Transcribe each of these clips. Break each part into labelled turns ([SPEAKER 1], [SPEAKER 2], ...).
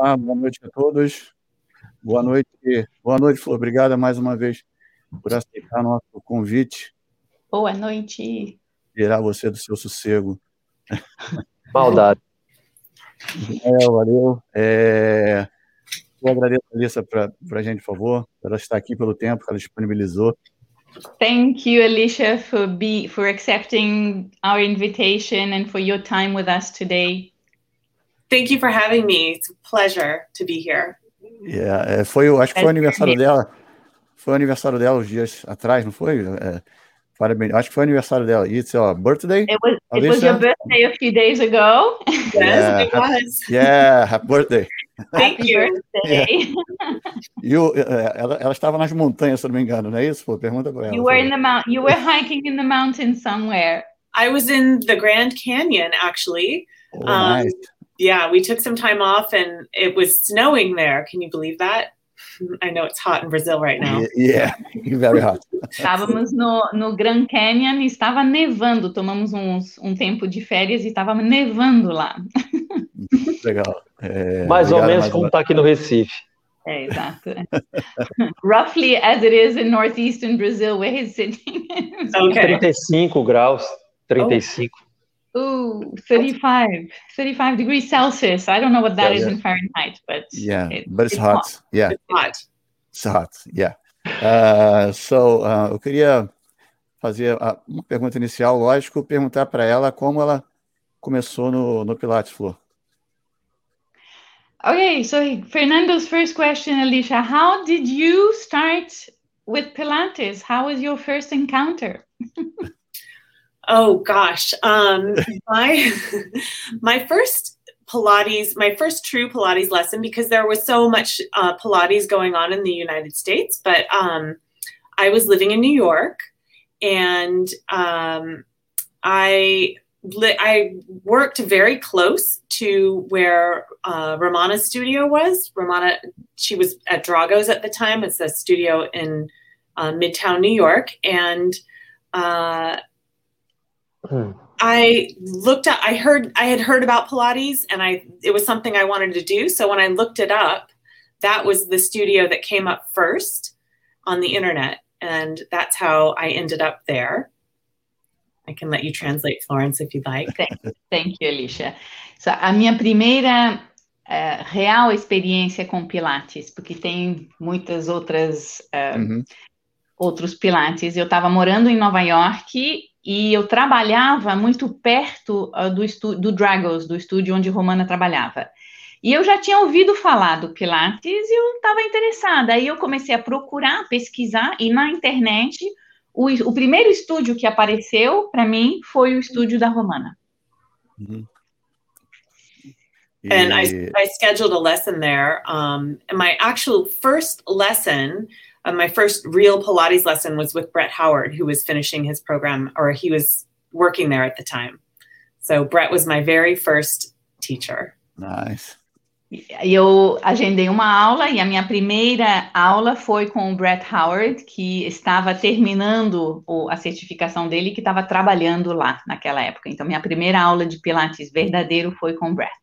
[SPEAKER 1] Olá, boa noite a todos. Boa noite, Flor. Obrigada mais uma vez por aceitar nosso convite,
[SPEAKER 2] Boa noite.
[SPEAKER 1] tirar você do seu sossego.
[SPEAKER 3] Maldade.
[SPEAKER 1] Valeu. Eu agradeço a Alissa para a gente, por favor, ela estar aqui pelo tempo que ela disponibilizou.
[SPEAKER 2] Thank you, Alicia, for accepting our invitation and for your time with us today.
[SPEAKER 4] Thank you for having me. It's a pleasure to be here.
[SPEAKER 1] Acho que foi o aniversário dela. Foi o aniversário dela uns dias atrás, não foi? Parabéns. Acho que foi o aniversário dela. It's your birthday?
[SPEAKER 2] It was your birthday a few days ago.
[SPEAKER 4] Yes, it was.
[SPEAKER 1] Yeah, happy birthday.
[SPEAKER 4] Thank you.
[SPEAKER 2] Birthday.
[SPEAKER 1] Ela estava nas montanhas, se não me engano, não é isso? Pô, pergunta para ela.
[SPEAKER 2] You were hiking in the mountains somewhere.
[SPEAKER 4] I was in the Grand Canyon, actually.
[SPEAKER 1] Oh, nice.
[SPEAKER 4] Yeah, we took some time off and it was snowing there. Can you believe that? I know it's hot in Brazil right now.
[SPEAKER 1] Yeah, very hot.
[SPEAKER 2] Estávamos no Grand Canyon e estava nevando. Tomamos um tempo de férias e estava nevando lá.
[SPEAKER 1] Legal.
[SPEAKER 3] Mais ou menos como está aqui no Recife.
[SPEAKER 2] Exato. Roughly as it is in northeastern Brazil, where he's sitting.
[SPEAKER 4] Okay.
[SPEAKER 3] 35 graus, 35.
[SPEAKER 2] Ooh, 35 degrees Celsius. I don't know what that is in Fahrenheit, but
[SPEAKER 1] but it's hot.
[SPEAKER 2] Hot.
[SPEAKER 1] Yeah,
[SPEAKER 4] It's hot.
[SPEAKER 1] it's hot. Yeah. Eu queria fazer uma pergunta inicial, lógico, perguntar para ela como ela começou no Pilates, Flor.
[SPEAKER 2] Okay, so Fernando's first question, Alicia, how did you start with Pilates? How was your first encounter?
[SPEAKER 4] Oh gosh. My first Pilates, my first true Pilates lesson, because there was so much Pilates going on in the United States, but I was living in New York, and I worked very close to where Romana's studio was. Romana, she was at Drago's at the time. It's a studio in Midtown New York, and I had heard about Pilates, and it was something I wanted to do. So when I looked it up, that was the studio that came up first on the internet. And that's how I ended up there. I can let you translate, Florence, if you'd like.
[SPEAKER 2] Thank you, Alicia. So, a minha primeira real experiência com Pilates, porque tem muitas outras outros Pilates. Eu estava morando em Nova York e eu trabalhava muito perto do Drago's, do estúdio onde Romana trabalhava. E eu já tinha ouvido falar do Pilates e eu estava interessada. Aí eu comecei a procurar, pesquisar, e na internet, o primeiro estúdio que apareceu para mim foi o estúdio da Romana.
[SPEAKER 4] And I scheduled a lesson there. And my actual first lesson, my first real Pilates lesson was with Brett Howard, who was finishing his program, or he was working there at the time. So Brett was my very first teacher.
[SPEAKER 1] Nice.
[SPEAKER 2] Eu agendei uma aula e a minha primeira aula foi com o Brett Howard, que estava terminando a certificação dele e que estava trabalhando lá naquela época. Então, minha primeira aula de Pilates verdadeiro foi com o Brett.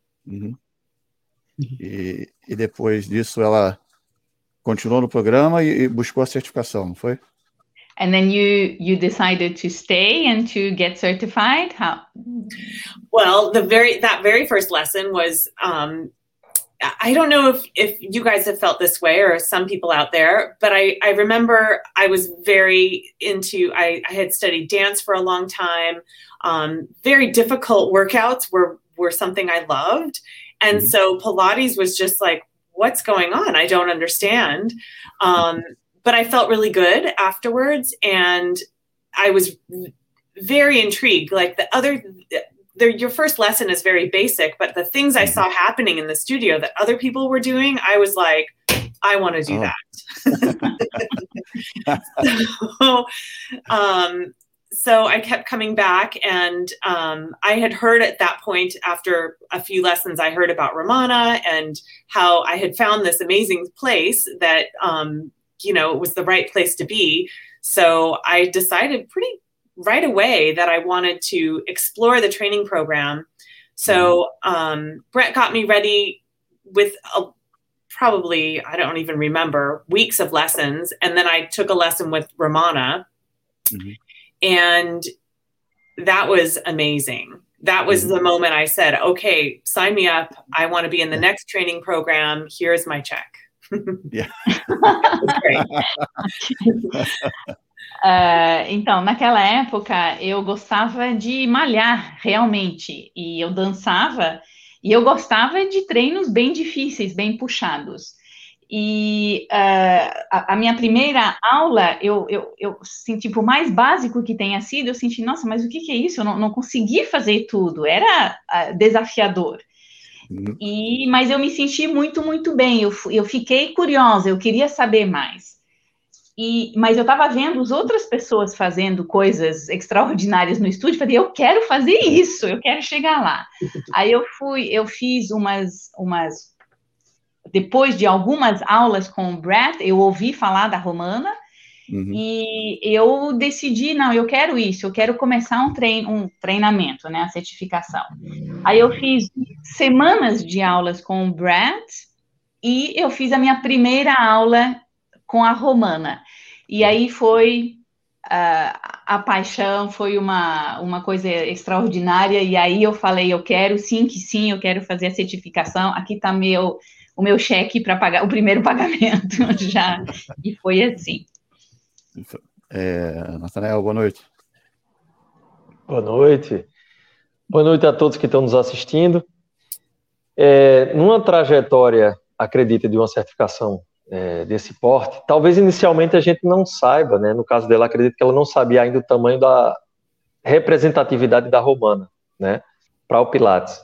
[SPEAKER 1] E depois disso ela continuou no programa e buscou a certificação, não foi?
[SPEAKER 2] And then you decided to stay and to get certified? How?
[SPEAKER 4] Well, that very first lesson was, I don't know if you guys have felt this way or some people out there, but I remember I was very into, I had studied dance for a long time. Very difficult workouts were something I loved. And so Pilates was just like, what's going on? I don't understand. But I felt really good afterwards, and I was very intrigued. Like your first lesson is very basic, but the things I saw happening in the studio that other people were doing, I was like, I want to do that. So I kept coming back, and I had heard at that point, after a few lessons, I heard about Romana and how I had found this amazing place that, it was the right place to be. So I decided pretty right away that I wanted to explore the training program. So Brett got me ready with probably, I don't even remember, weeks of lessons. And then I took a lesson with Romana. Mm-hmm. And that was amazing. That was the moment I said, okay, sign me up. I want to be in the next training program. Here's my check.
[SPEAKER 1] Yeah.
[SPEAKER 2] Então, naquela época, eu gostava de malhar, realmente. E eu dançava, e eu gostava de treinos bem difíceis, bem puxados. E a minha primeira aula, eu senti, por mais básico que tenha sido, eu senti, nossa, mas o que é isso? Eu não consegui fazer tudo, era desafiador. Mas eu me senti muito, muito bem, eu fiquei curiosa, eu queria saber mais. Mas eu estava vendo as outras pessoas fazendo coisas extraordinárias no estúdio, falei, eu quero fazer isso, eu quero chegar lá. Aí eu fiz umas depois de algumas aulas com o Brett, eu ouvi falar da Romana, e eu decidi, não, eu quero isso, eu quero começar um treinamento, né, a certificação. Aí eu fiz semanas de aulas com o Brett, e eu fiz a minha primeira aula com a Romana. E aí foi a paixão, foi uma coisa extraordinária, e aí eu falei, eu quero, sim, eu quero fazer a certificação, aqui está o meu cheque para pagar o primeiro pagamento, já, e foi assim.
[SPEAKER 1] Nathanael, boa noite.
[SPEAKER 3] Boa noite. Boa noite a todos que estão nos assistindo. Numa trajetória, acredita, de uma certificação desse porte, talvez inicialmente a gente não saiba, né? No caso dela, acredito que ela não sabia ainda o tamanho da representatividade da Romana, né? Para o Pilates.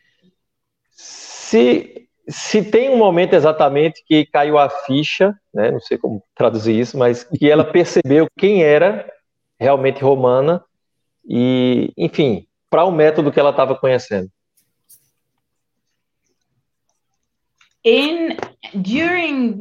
[SPEAKER 3] Se tem um momento exatamente que caiu a ficha, né, não sei como traduzir isso, mas que ela percebeu quem era realmente Romana e, enfim, para o método que ela estava conhecendo.
[SPEAKER 2] During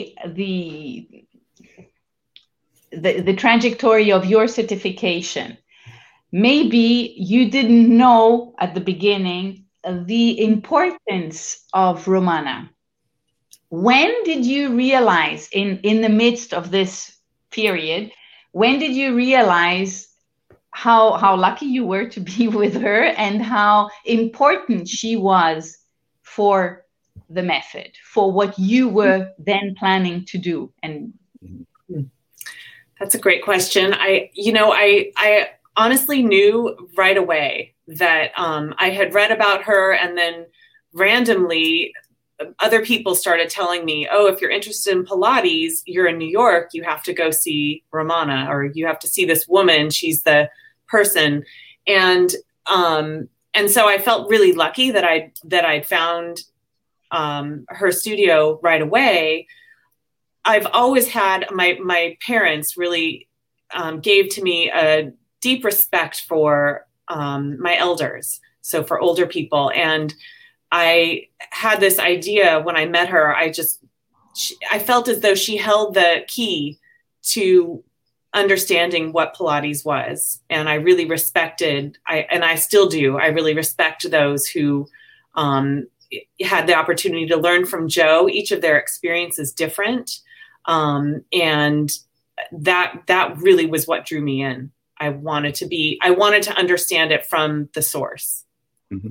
[SPEAKER 2] the trajectory of your certification, maybe you didn't know at the beginning the importance of Romana. When did you realize, in the midst of this period, when did you realize how lucky you were to be with her and how important she was for the method, for what you were then planning to do? And
[SPEAKER 4] that's a great question. I honestly knew right away that I had read about her, and then randomly other people started telling me, oh, if you're interested in Pilates, you're in New York, you have to go see Romana, or you have to see this woman, she's the person. And so I felt really lucky that I'd found her studio right away. I've always had, my parents really gave to me a deep respect for my elders, so for older people. And I had this idea when I met her, I felt as though she held the key to understanding what Pilates was. And I really respected, and I still do, I really respect those who had the opportunity to learn from Joe. Each of their experience is different. And that really was what drew me in. I wanted to understand it from the source.
[SPEAKER 1] Mm-hmm.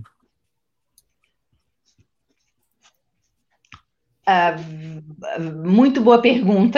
[SPEAKER 2] Muito boa pergunta.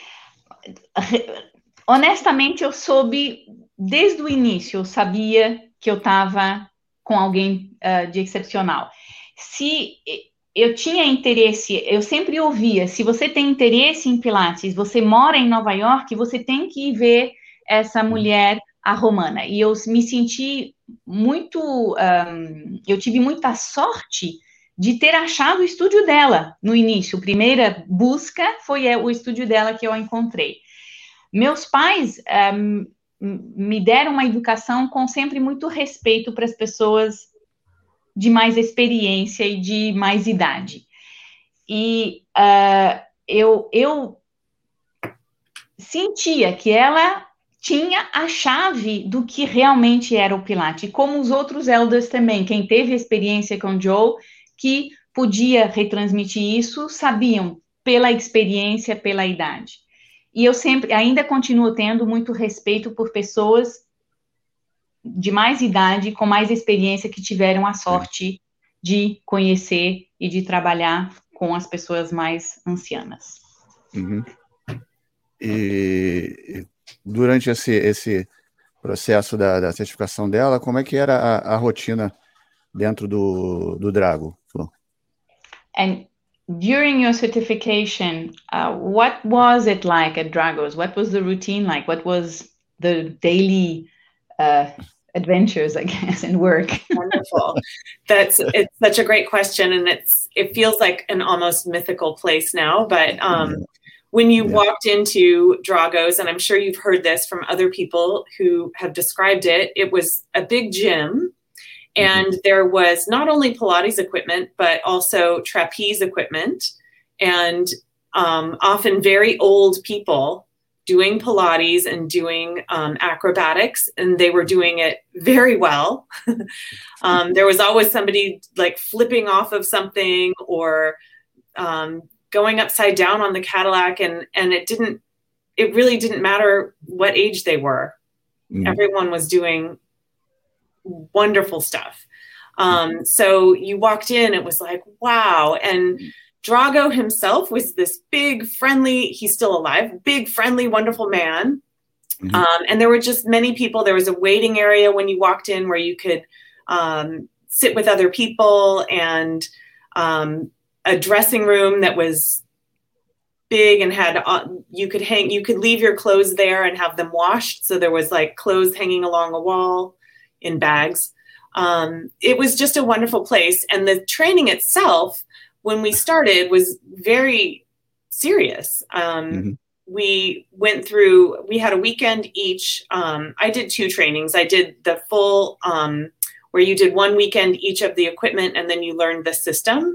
[SPEAKER 2] Honestamente, eu soube desde o início, eu sabia que eu estava com alguém de excepcional. Se eu tinha interesse, eu sempre ouvia, se você tem interesse em Pilates, você mora em Nova York, você tem que ir ver essa mulher, a Romana. E eu me senti muito, eu tive muita sorte de ter achado o estúdio dela no início. A primeira busca foi o estúdio dela que eu encontrei. Meus pais me deram uma educação com sempre muito respeito para as pessoas de mais experiência e de mais idade. E eu sentia que ela tinha a chave do que realmente era o Pilates, como os outros elders também, quem teve experiência com Joe, que podia retransmitir isso, sabiam, pela experiência, pela idade. E eu ainda continuo tendo muito respeito por pessoas de mais idade, com mais experiência, que tiveram a sorte de conhecer e de trabalhar com as pessoas mais ancianas.
[SPEAKER 1] Uhum. E durante esse processo da certificação dela, como é que era a rotina dentro do Drago?
[SPEAKER 2] And during your certification, what was it like at Dragos? What was the routine like? What was the daily adventures, I guess, and work?
[SPEAKER 4] Wonderful. It's such a great question, and it feels like an almost mythical place now. But when you walked into Dragos, and I'm sure you've heard this from other people who have described it, it was a big gym. And there was not only Pilates equipment, but also trapeze equipment, and often very old people doing Pilates and doing acrobatics, and they were doing it very well. There was always somebody like flipping off of something or going upside down on the Cadillac, and it really didn't matter what age they were. Everyone was doing wonderful stuff. So you walked in, it was like, wow. And Drago himself was this big, friendly, he's still alive, big, friendly, wonderful man. And there were just many people. There was a waiting area when you walked in where you could sit with other people, and a dressing room that was big and had, you could leave your clothes there and have them washed. So there was like clothes hanging along a wall in bags. It was just a wonderful place. And the training itself, when we started, was very serious. We went through, we had a weekend each. I did 2 trainings. I did the full, where you did 1 weekend each of the equipment, and then you learned the system.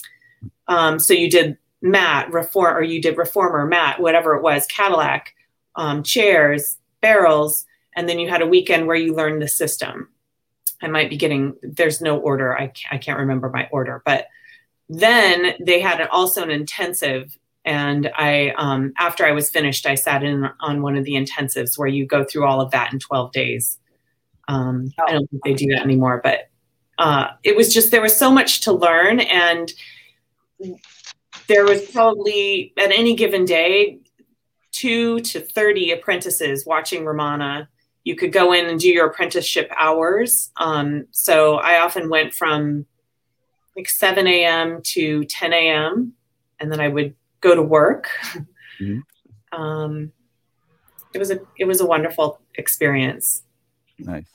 [SPEAKER 4] So you did mat, or you did reformer, mat, whatever it was, Cadillac, chairs, barrels, and then you had a weekend where you learned the system. I might be there's no order. I can't remember my order, but then they had also an intensive. And after I was finished, I sat in on one of the intensives where you go through all of that in 12 days. I don't think they do that anymore, but it was just, there was so much to learn. And there was probably at any given day, 2 to 30 apprentices watching Romana. You could go in and do your apprenticeship hours. So I often went from like 7 a.m. to 10 a.m. and then I would go to work. It was a wonderful experience.
[SPEAKER 1] Nice.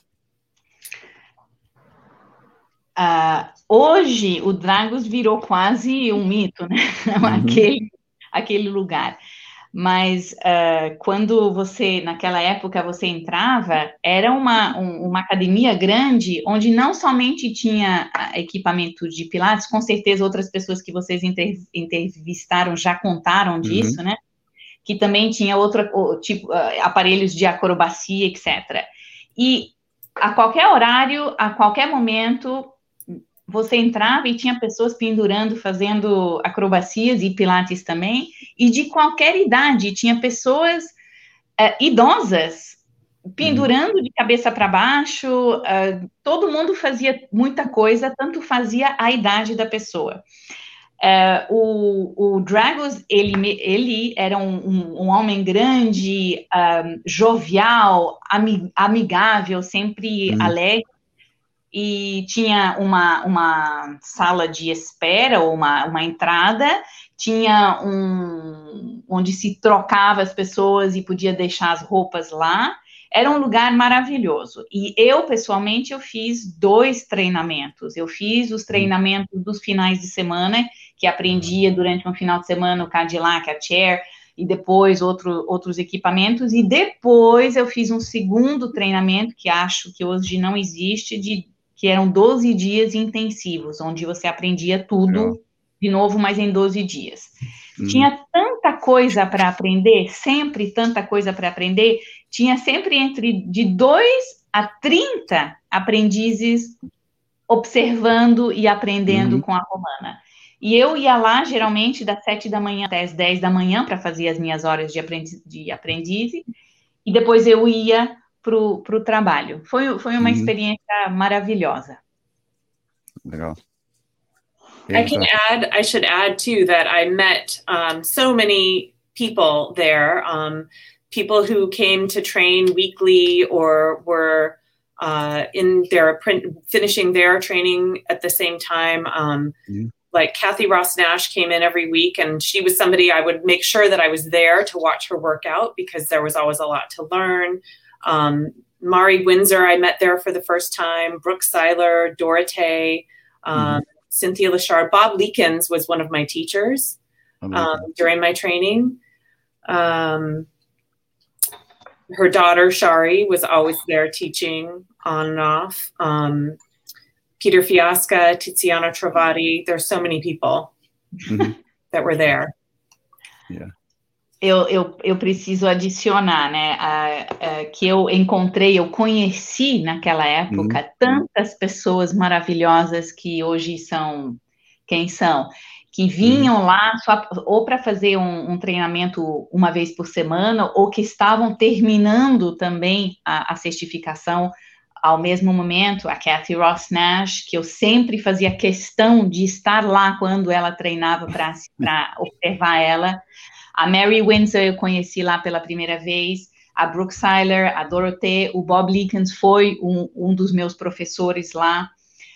[SPEAKER 2] Hoje o Dragos virou quase um mito, né? Aquele lugar. Mas quando naquela época você entrava, era uma academia grande, onde não somente tinha equipamento de Pilates, com certeza outras pessoas que vocês entrevistaram já contaram disso, né? Que também tinha tipo aparelhos de acrobacia, etc. E a qualquer horário, a qualquer momento, você entrava e tinha pessoas pendurando, fazendo acrobacias e Pilates também, e de qualquer idade, tinha pessoas idosas pendurando de cabeça para baixo, todo mundo fazia muita coisa, tanto fazia a idade da pessoa. O Dragos, ele era um homem grande, jovial, amigável, sempre alegre, e tinha uma sala de espera, ou uma entrada, tinha onde se trocava as pessoas e podia deixar as roupas lá. Era um lugar maravilhoso. E eu, pessoalmente, eu fiz 2 treinamentos. Eu fiz os treinamentos dos finais de semana, que aprendia durante um final de semana o Cadillac, a chair, e depois outros equipamentos. E depois eu fiz um segundo treinamento, que acho que hoje não existe, que eram 12 dias intensivos, onde você aprendia tudo de novo, mas em 12 dias. Tinha tanta coisa para aprender, sempre tanta coisa para aprender, tinha sempre de 2 a 30 aprendizes observando e aprendendo com a Romana. E eu ia lá, geralmente, das 7 da manhã até as 10 da manhã, para fazer as minhas horas de aprendiz, e depois eu ia para o trabalho. Foi uma experiência maravilhosa.
[SPEAKER 1] Legal.
[SPEAKER 4] I should add too, that I met so many people there, people who came to train weekly or were finishing their training at the same time. Like Kathy Ross Nash came in every week, and she was somebody I would make sure that I was there to watch her work out because there was always a lot to learn. Mari Windsor, I met there for the first time. Brooke Seiler, Dorothée, Cynthia Lachard. Bob Leekins was one of my teachers during my training. Her daughter, Shari, was always there teaching on and off. Peter Fiasca, Tiziana Travati. There's so many people that were there.
[SPEAKER 1] Yeah.
[SPEAKER 2] Eu preciso adicionar, né, que eu conheci naquela época tantas pessoas maravilhosas que hoje são quem são, que vinham lá só, ou para fazer um treinamento uma vez por semana, ou que estavam terminando também a certificação ao mesmo momento. A Kathy Ross Nash, que eu sempre fazia questão de estar lá quando ela treinava para observar ela. A Mary Windsor eu conheci lá pela primeira vez. A Brooke Seiler, a Dorothée, o Bob Leekins foi um dos meus professores lá.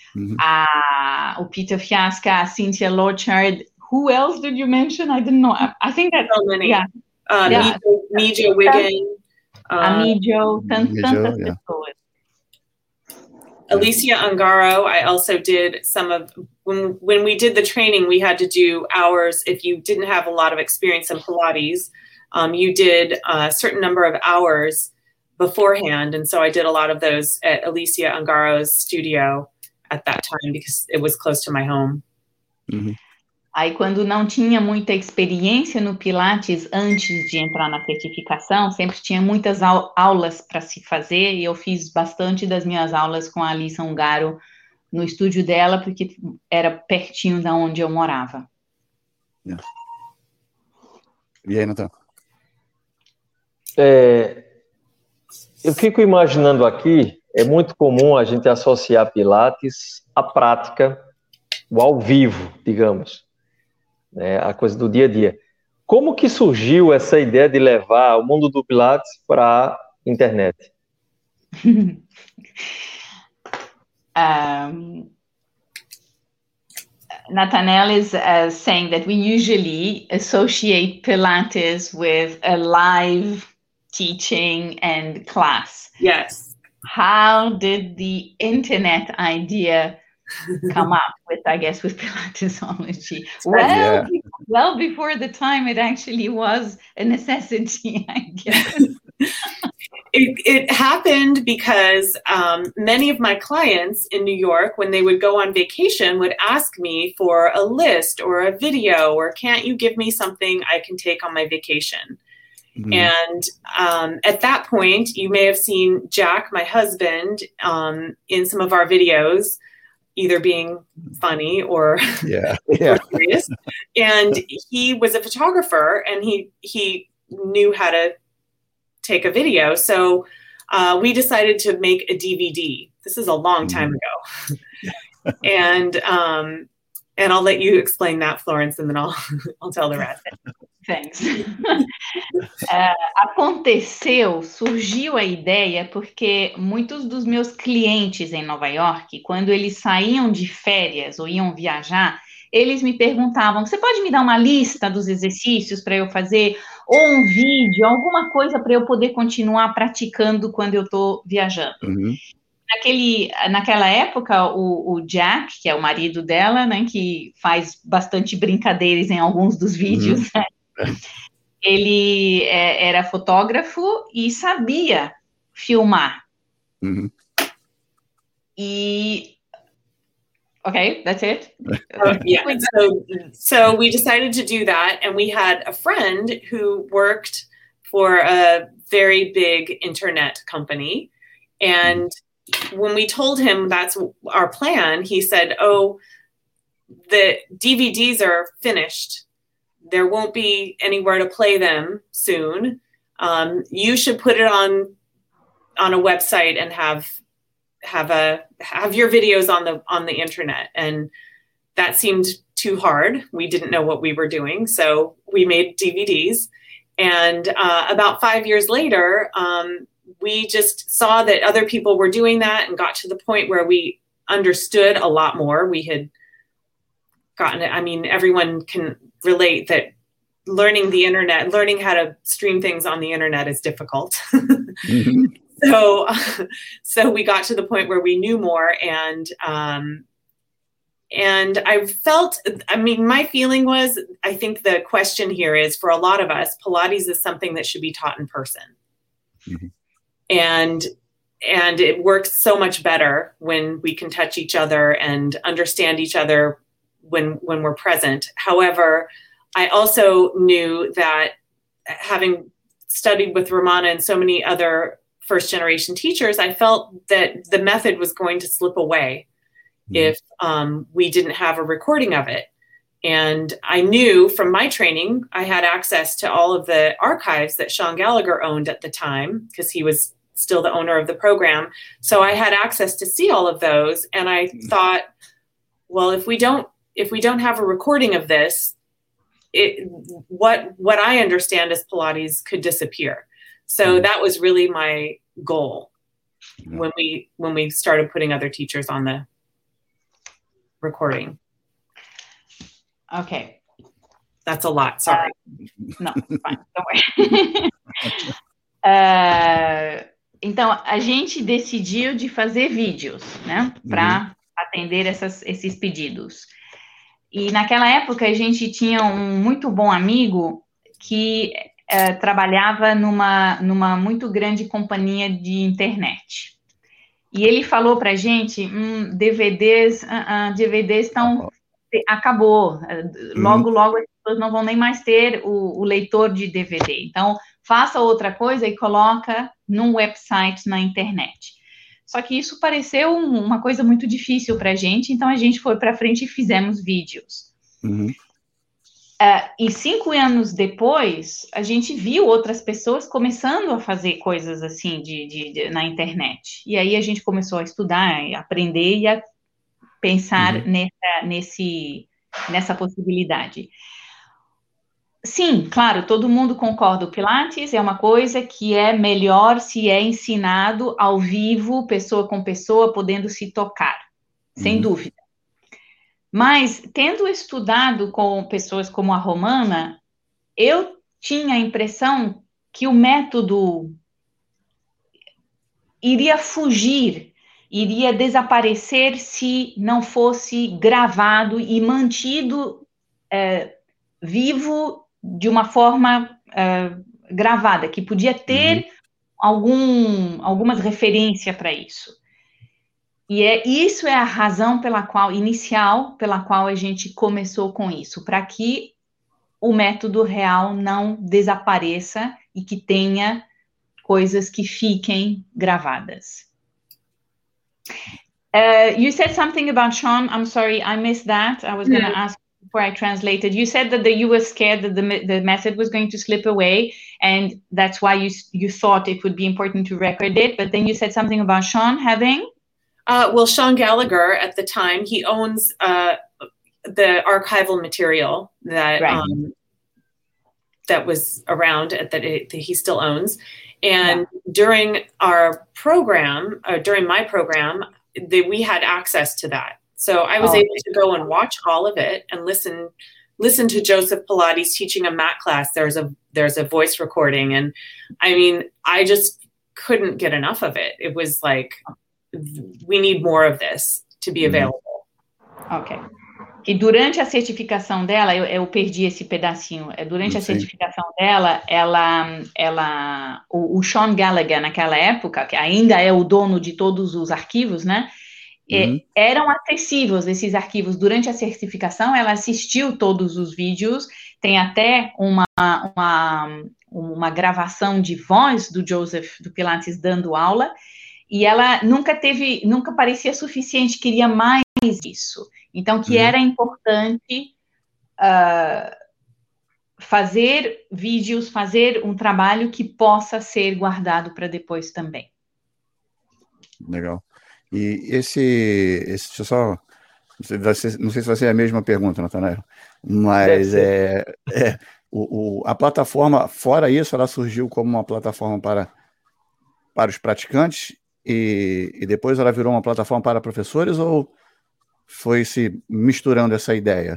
[SPEAKER 2] O Peter Fiasca, a Cynthia Lachard. Who else did you mention? I didn't know. I think that's
[SPEAKER 4] so many.
[SPEAKER 2] Yeah.
[SPEAKER 4] Mijo Wiggin.
[SPEAKER 2] A Mijo, tantas pessoas.
[SPEAKER 4] Alicia Ungaro, I also did some of, when we did the training, we had to do hours. If you didn't have a lot of experience in Pilates, you did a certain number of hours beforehand. And so I did a lot of those at Alicia Ungaro's studio at that time because it was close to my home.
[SPEAKER 2] Aí, quando não tinha muita experiência no Pilates antes de entrar na certificação, sempre tinha muitas aulas para se fazer, e eu fiz bastante das minhas aulas com a Alissa Ungaro no estúdio dela, porque era pertinho da onde eu morava.
[SPEAKER 1] Yeah. E aí, Natan?
[SPEAKER 3] Eu fico imaginando aqui, é muito comum a gente associar Pilates à prática, o ao vivo, digamos. A coisa do dia a dia. Como que surgiu essa ideia de levar o mundo do Pilates para a internet?
[SPEAKER 2] Nathaniel is saying that we usually associate Pilates with a live teaching and class.
[SPEAKER 4] Yes.
[SPEAKER 2] How did the internet idea come up with, I guess, with Pilatesology? Well before the time it actually was a necessity, I guess.
[SPEAKER 4] It happened because many of my clients in New York, when they would go on vacation, would ask me for a list or a video, or can't you give me something I can take on my vacation? And at that point, you may have seen Jack, my husband, in some of our videos, either being funny or serious. And he was a photographer, and he knew how to take a video. So we decided to make a DVD. This is a long time ago. And I'll let you explain that, Florence, and then I'll tell the rest.
[SPEAKER 2] Thanks. Surgiu a ideia porque muitos dos meus clientes em Nova York, quando eles saíam de férias ou iam viajar, eles me perguntavam: você pode me dar uma lista dos exercícios para eu fazer? Ou um vídeo, alguma coisa para eu poder continuar praticando quando eu estou viajando. Naquela época, o Jack, que é o marido dela, né, que faz bastante brincadeiras em alguns dos vídeos, né? Ele era fotógrafo e sabia filmar. E... Okay, that's it?
[SPEAKER 4] Yeah, so we decided to do that, and we had a friend who worked for a very big internet company, and when we told him that's our plan, he said, oh, the DVDs are finished. There won't be anywhere to play them soon. You should put it on a website and have your videos on the internet. And that seemed too hard. We didn't know what we were doing, so we made DVDs. And about 5 years later, we just saw that other people were doing that and got to the point where we understood a lot more. We had gotten it. I mean, everyone can relate that learning the internet, learning how to stream things on the internet is difficult. Mm-hmm. So we got to the point where we knew more, and I felt, I mean, my feeling was, I think the question here is, for a lot of us, Pilates is something that should be taught in person. Mm-hmm. And it works so much better when we can touch each other and understand each other when we're present. However, I also knew that, having studied with Romana and so many other first generation teachers, I felt that the method was going to slip away if we didn't have a recording of it. And I knew from my training, I had access to all of the archives that Sean Gallagher owned at the time, because he was still the owner of the program. So I had access to see all of those. And I thought, well, if we don't have a recording of this, what I understand as Pilates could disappear. So that was really my goal when we started putting other teachers on the recording.
[SPEAKER 2] Okay.
[SPEAKER 4] That's a lot, sorry.
[SPEAKER 2] No, fine, don't worry. Então, a gente decidiu de fazer vídeos, né, para atender esses pedidos. E naquela época a gente tinha um muito bom amigo que trabalhava numa muito grande companhia de internet. E ele falou pra gente, DVDs estão... Acabou. Logo as pessoas não vão nem mais ter o leitor de DVD. Então, faça outra coisa e coloca num website na internet. Só que isso pareceu uma coisa muito difícil para a gente, então a gente foi para frente e fizemos vídeos. E 5 anos depois, a gente viu outras pessoas começando a fazer coisas assim na internet. E aí a gente começou a estudar, a aprender e a pensar nessa possibilidade. Sim, claro, todo mundo concorda, o Pilates é uma coisa que é melhor se é ensinado ao vivo, pessoa com pessoa, podendo se tocar, sem dúvida. Mas, tendo estudado com pessoas como a Romana, eu tinha a impressão que o método iria fugir, iria desaparecer se não fosse gravado e mantido vivo de uma forma gravada, que podia ter algumas referências para isso. E isso é a razão inicial pela qual a gente começou com isso, para que o método real não desapareça e que tenha coisas que fiquem gravadas. You said something about Sean. I'm sorry, I missed that. I was going to ask before I translated. You said that you were scared that the method was going to slip away, and that's why you thought it would be important to record it. But then you said something about Sean having...
[SPEAKER 4] Well, Sean Gallagher, at the time, he owns the archival material that that was around, that he still owns. And during our program, during my program, we had access to that. So I was able to go and watch all of it and listen to Joseph Pilates teaching a mat class. There's a voice recording. And I mean, I just couldn't get enough of it. It was like, we need more of this to be available.
[SPEAKER 2] Ok. E durante a certificação dela, eu perdi esse pedacinho. Durante a certificação dela, o Sean Gallagher, naquela época, que ainda é o dono de todos os arquivos, né? Eram acessíveis esses arquivos. Durante a certificação, ela assistiu todos os vídeos. Tem até uma gravação de voz do Joseph, do Pilates, dando aula. E ela nunca parecia suficiente, queria mais isso. Então, que era importante fazer vídeos, fazer um trabalho que possa ser guardado para depois também.
[SPEAKER 1] Legal. E deixa eu só, não sei se vai ser a mesma pergunta, Natanael, mas a plataforma, fora isso, ela surgiu como uma plataforma para os praticantes e depois ela virou uma plataforma para professores, ou foi se misturando essa ideia?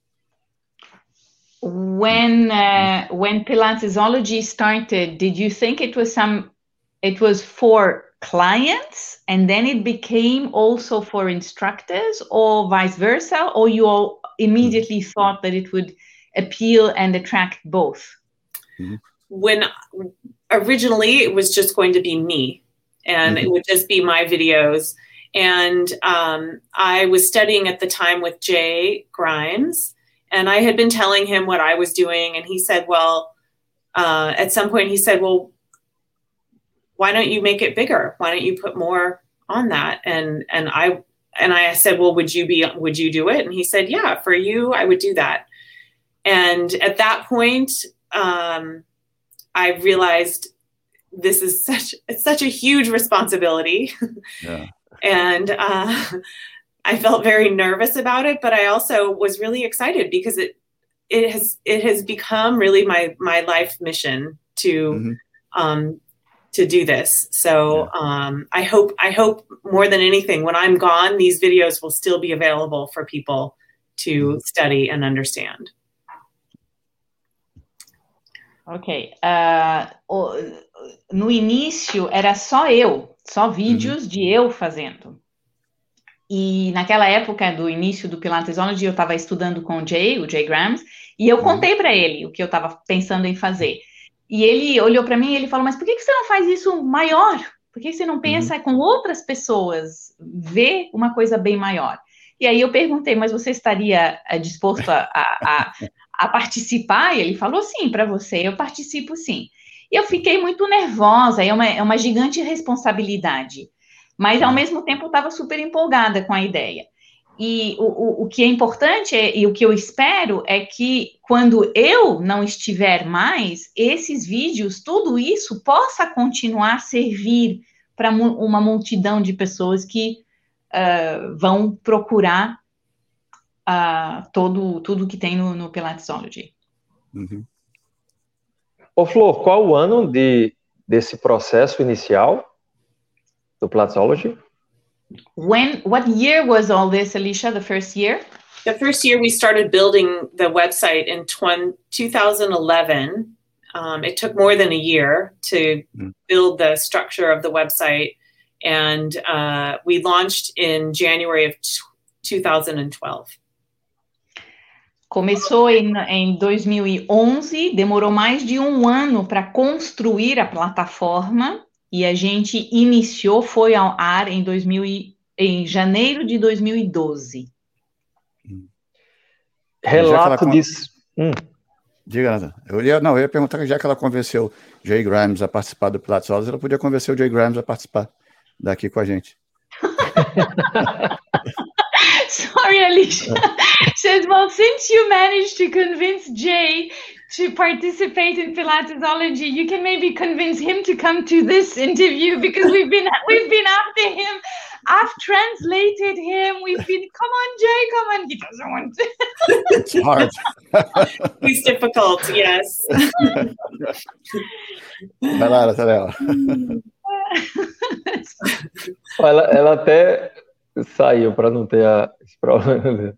[SPEAKER 2] When Pilatesology started, did you think it was for clients and then it became also for instructors, or vice versa, or you all immediately thought that it would appeal and attract both?
[SPEAKER 4] When originally it was just going to be me, and it would just be my videos. And I was studying at the time with Jay Grimes, and I had been telling him what I was doing, and he said, well, at some point he said, well, why don't you make it bigger? Why don't you put more on that? And I said, well, would you do it? And he said, yeah, for you, I would do that. And at that point, I realized this is such a huge responsibility. Yeah. And I felt very nervous about it, but I also was really excited because it has become really my life mission to do this. So I hope more than anything, when I'm gone, these videos will still be available for people to study and understand.
[SPEAKER 2] Ok. No início era só vídeos de eu fazendo. E naquela época do início do Pilatesology, eu estava estudando com o Jay Grimes, e eu contei para ele o que eu estava pensando em fazer. E ele olhou para mim e ele falou, mas por que você não faz isso maior? Por que você não pensa com outras pessoas, ver uma coisa bem maior? E aí eu perguntei, mas você estaria disposto a participar? E ele falou, sim, para você, eu participo sim. E eu fiquei muito nervosa, é uma gigante responsabilidade. Mas, ao mesmo tempo, eu estava super empolgada com a ideia. E o que é importante, e o que eu espero, é que, quando eu não estiver mais, esses vídeos, tudo isso, possa continuar a servir para uma multidão de pessoas que vão procurar tudo que tem no Pilatesology.
[SPEAKER 3] Ô, Flor, qual o ano desse processo inicial do Pilatesology?
[SPEAKER 2] What year was all this, Alicia, the first year?
[SPEAKER 4] The first year we started building the website in 2011. It took more than a year to build the structure of the website, and we launched in January of 2012.
[SPEAKER 2] Começou em 2011, demorou mais de um ano para construir a plataforma, e a gente foi ao ar em janeiro de 2012.
[SPEAKER 3] Relato disso.
[SPEAKER 1] Diga, Nathan. Eu ia perguntar que já que ela convenceu Jay Grimes a participar do Pilatesology, ela podia convencer o Jay Grimes a participar daqui com a gente.
[SPEAKER 2] Sorry, Alicia. Says, well, since you managed to convince Jay to participate in Pilatesology, you can maybe convince him to come to this interview, because we've been after him. I've translated him. We've been, come on, Jay, come on. He doesn't want to.
[SPEAKER 1] It's hard.
[SPEAKER 4] He's difficult, yes.
[SPEAKER 1] Vai lá, Nathanael.
[SPEAKER 3] Ela até saiu para não ter esse problema.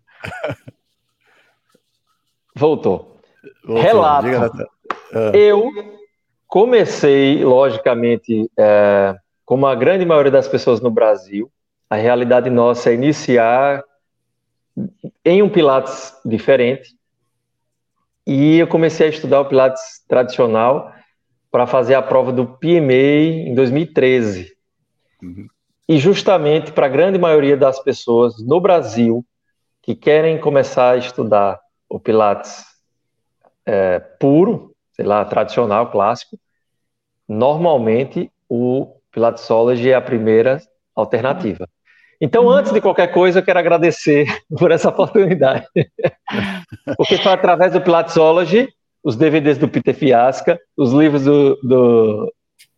[SPEAKER 3] Voltou. Relato. Eu comecei, logicamente, como a grande maioria das pessoas no Brasil, a realidade nossa é iniciar em um Pilates diferente, e eu comecei a estudar o Pilates tradicional para fazer a prova do PMA em 2013. E justamente para a grande maioria das pessoas no Brasil que querem começar a estudar o Pilates puro, sei lá, tradicional, clássico, normalmente o Pilatesology é a primeira alternativa. Então, antes de qualquer coisa, eu quero agradecer por essa oportunidade. Porque foi através do Pilatesology, os DVDs do Peter Fiasca, os livros do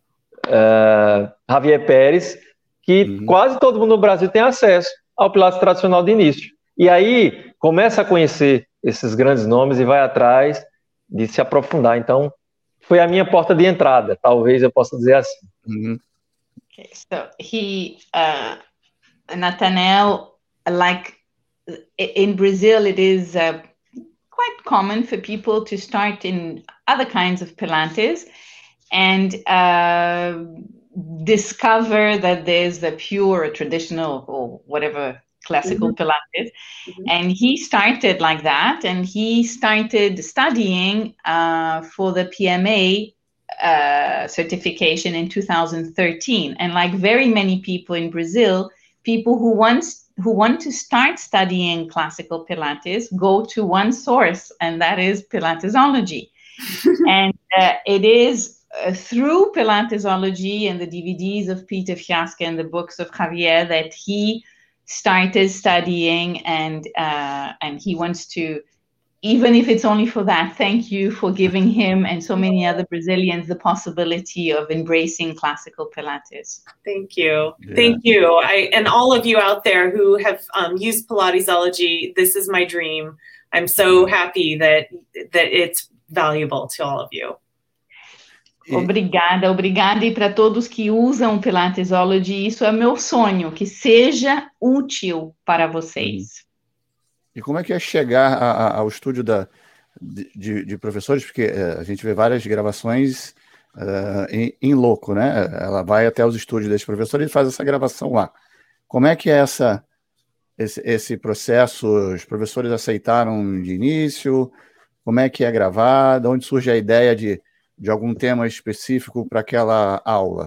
[SPEAKER 3] Javier Pérez, que quase todo mundo no Brasil tem acesso ao Pilates tradicional de início. E aí, começa a conhecer esses grandes nomes e vai atrás de se aprofundar. Então, foi a minha porta de entrada, talvez eu possa dizer assim.
[SPEAKER 2] Okay, so Nathaniel, like in Brazil, it is quite common for people to start in other kinds of Pilates and discover that there's the pure or traditional or whatever classical Pilates. And he started like that, and he started studying for the PMA certification in 2013. And like very many people in Brazil, people who want to start studying classical Pilates go to one source, and that is Pilatesology. And it is through Pilatesology and the DVDs of Peter Fiasca and the books of Javier that he started studying, and he wants to, even if it's only for that, thank you for giving him and so many other Brazilians the possibility of embracing classical Pilates.
[SPEAKER 4] Thank you. Yeah. Thank you. And all of you out there who have used Pilatesology, this is my dream. I'm so happy that it's valuable to all of you.
[SPEAKER 2] Obrigada. E para todos que usam Pilatesology, isso é meu sonho, que seja útil para vocês.
[SPEAKER 1] E como é que é chegar ao estúdio de professores? Porque a gente vê várias gravações em loco, né? Ela vai até os estúdios desses professores e faz essa gravação lá. Como é que é esse processo? Os professores aceitaram de início? Como é que é gravar? De onde surge a ideia de algum tema específico para aquela aula?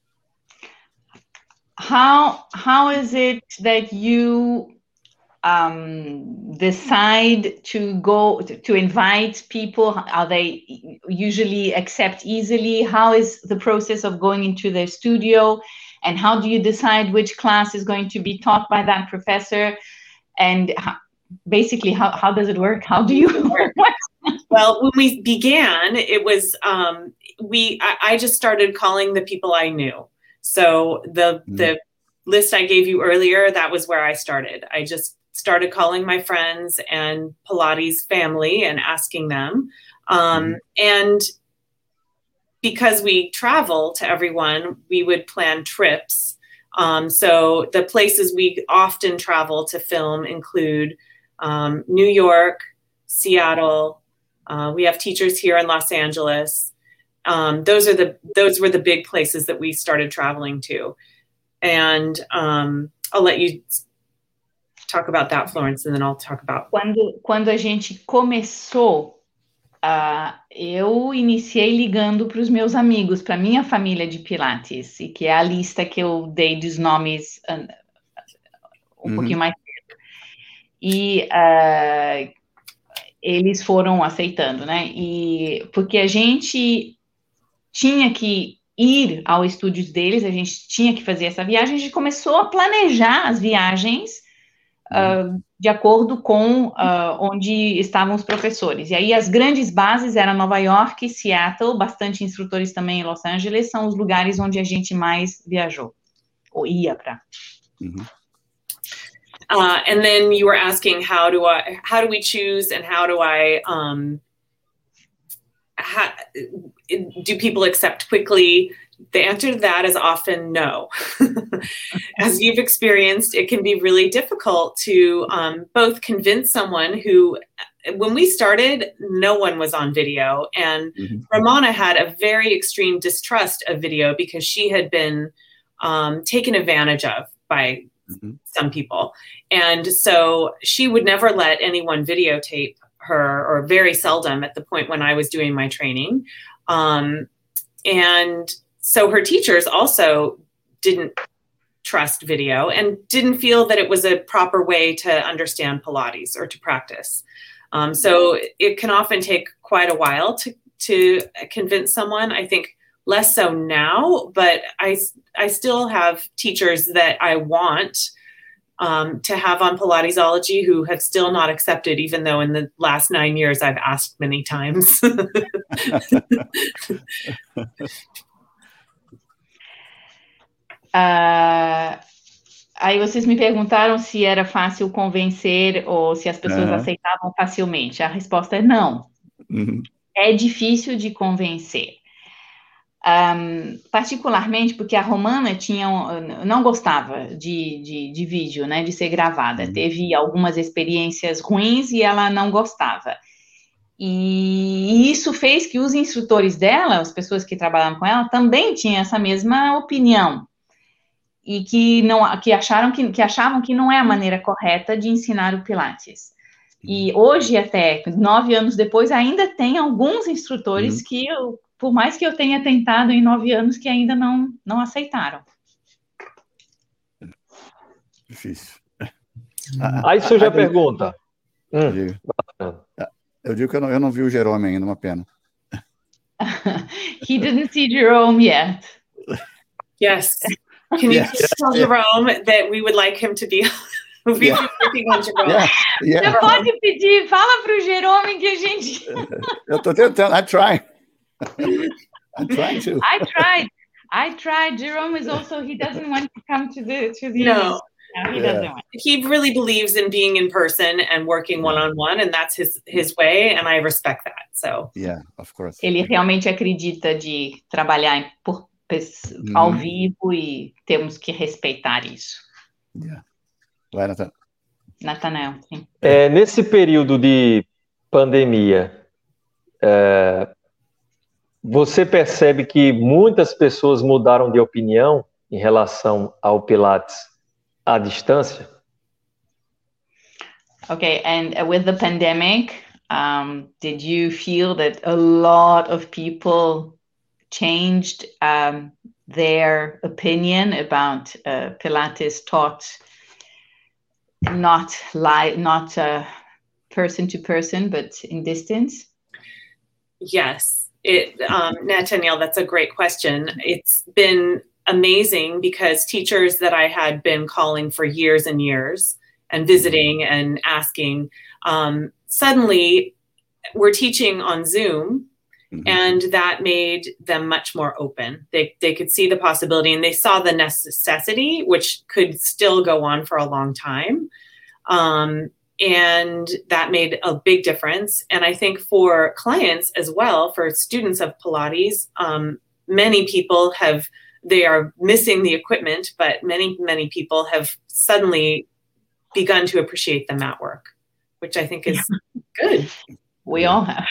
[SPEAKER 2] How is it that you decide to invite people? Are they usually accept easily? How is the process of going into their studio? And how do you decide which class is going to be taught by that professor? And basically, how does it work? How do you work?
[SPEAKER 4] Well, when we began, it was I just started calling the people I knew. So the list I gave you earlier, that was where I started. I just started calling my friends and Pilates family and asking them. And because we travel to everyone, we would plan trips. So the places we often travel to film include New York, Seattle. We have teachers here in Los Angeles. Those were the big places that we started traveling to. And I'll let you talk about that, Florence, and then I'll talk about...
[SPEAKER 2] Quando a gente começou, eu iniciei ligando para os meus amigos, para minha família de Pilates, e que é a lista que eu dei dos nomes um pouquinho mais cedo. E eles foram aceitando, né? E porque a gente tinha que ir ao estúdio deles, a gente tinha que fazer essa viagem, a gente começou a planejar as viagens de acordo com onde estavam os professores. E aí as grandes bases eram Nova York e Seattle, bastante instrutores também em Los Angeles, são os lugares onde a gente mais viajou, ou ia para.
[SPEAKER 4] And then you were asking how do we choose and how do I do people accept quickly? The answer to that is often no. As you've experienced, it can be really difficult to both convince someone who, when we started, no one was on video. And Ramona had a very extreme distrust of video because she had been taken advantage of by some people. And so she would never let anyone videotape her, or very seldom at the point when I was doing my training. And so her teachers also didn't trust video and didn't feel that it was a proper way to understand Pilates or to practice. So it can often take quite a while to convince someone. I think less so now, but I still have teachers that I want to have on Pilatesology who have still not accepted, even though in the last 9 years I've asked many times.
[SPEAKER 2] Aí vocês me perguntaram se era fácil convencer ou se as pessoas aceitavam facilmente. A resposta é não. É difícil de convencer. Particularmente porque a Romana não gostava de vídeo, né, de ser gravada. Teve algumas experiências ruins e ela não gostava. E isso fez que os instrutores dela, as pessoas que trabalhavam com ela, também tinham essa mesma opinião. E que achavam que não é a maneira correta de ensinar o Pilates. E hoje, até 9 anos depois, ainda tem alguns instrutores que, por mais que eu tenha tentado em 9 anos, que ainda não aceitaram.
[SPEAKER 3] Difícil. Aí surge a pergunta.
[SPEAKER 1] Eu digo que eu não vi o Jerome ainda, uma pena.
[SPEAKER 2] He didn't see Jerome yet.
[SPEAKER 4] Yes. Can you tell Jerome that we would like him to be working on Jerome?
[SPEAKER 2] Você pode pedir, fala para o Jerome que a gente...
[SPEAKER 1] Eu estou tentando, I'm trying to.
[SPEAKER 2] I tried. Jerome is also, he doesn't want to come to the
[SPEAKER 4] No.
[SPEAKER 2] He doesn't want.
[SPEAKER 4] He really believes in being in person and working one-on-one, and that's his way, and I respect that. So
[SPEAKER 1] yeah, of course.
[SPEAKER 2] Ele realmente acredita de trabalhar ao vivo e temos que respeitar isso.
[SPEAKER 1] Yeah. Vai,
[SPEAKER 2] Nathanael, sim.
[SPEAKER 3] Nesse período de pandemia, você percebe que muitas pessoas mudaram de opinião em relação ao Pilates à distância?
[SPEAKER 2] Okay, and with the pandemic, did you feel that a lot of people changed their opinion about Pilates taught not person to person, but in distance?
[SPEAKER 4] Yes, Nathaniel, that's a great question. It's been amazing because teachers that I had been calling for years and years and visiting and asking, suddenly we're teaching on Zoom. And that made them much more open. They could see the possibility and they saw the necessity, which could still go on for a long time. And that made a big difference. And I think for clients as well, for students of Pilates, many people they are missing the equipment, but many, many people have suddenly begun to appreciate the mat work, which I think is good.
[SPEAKER 2] We all have.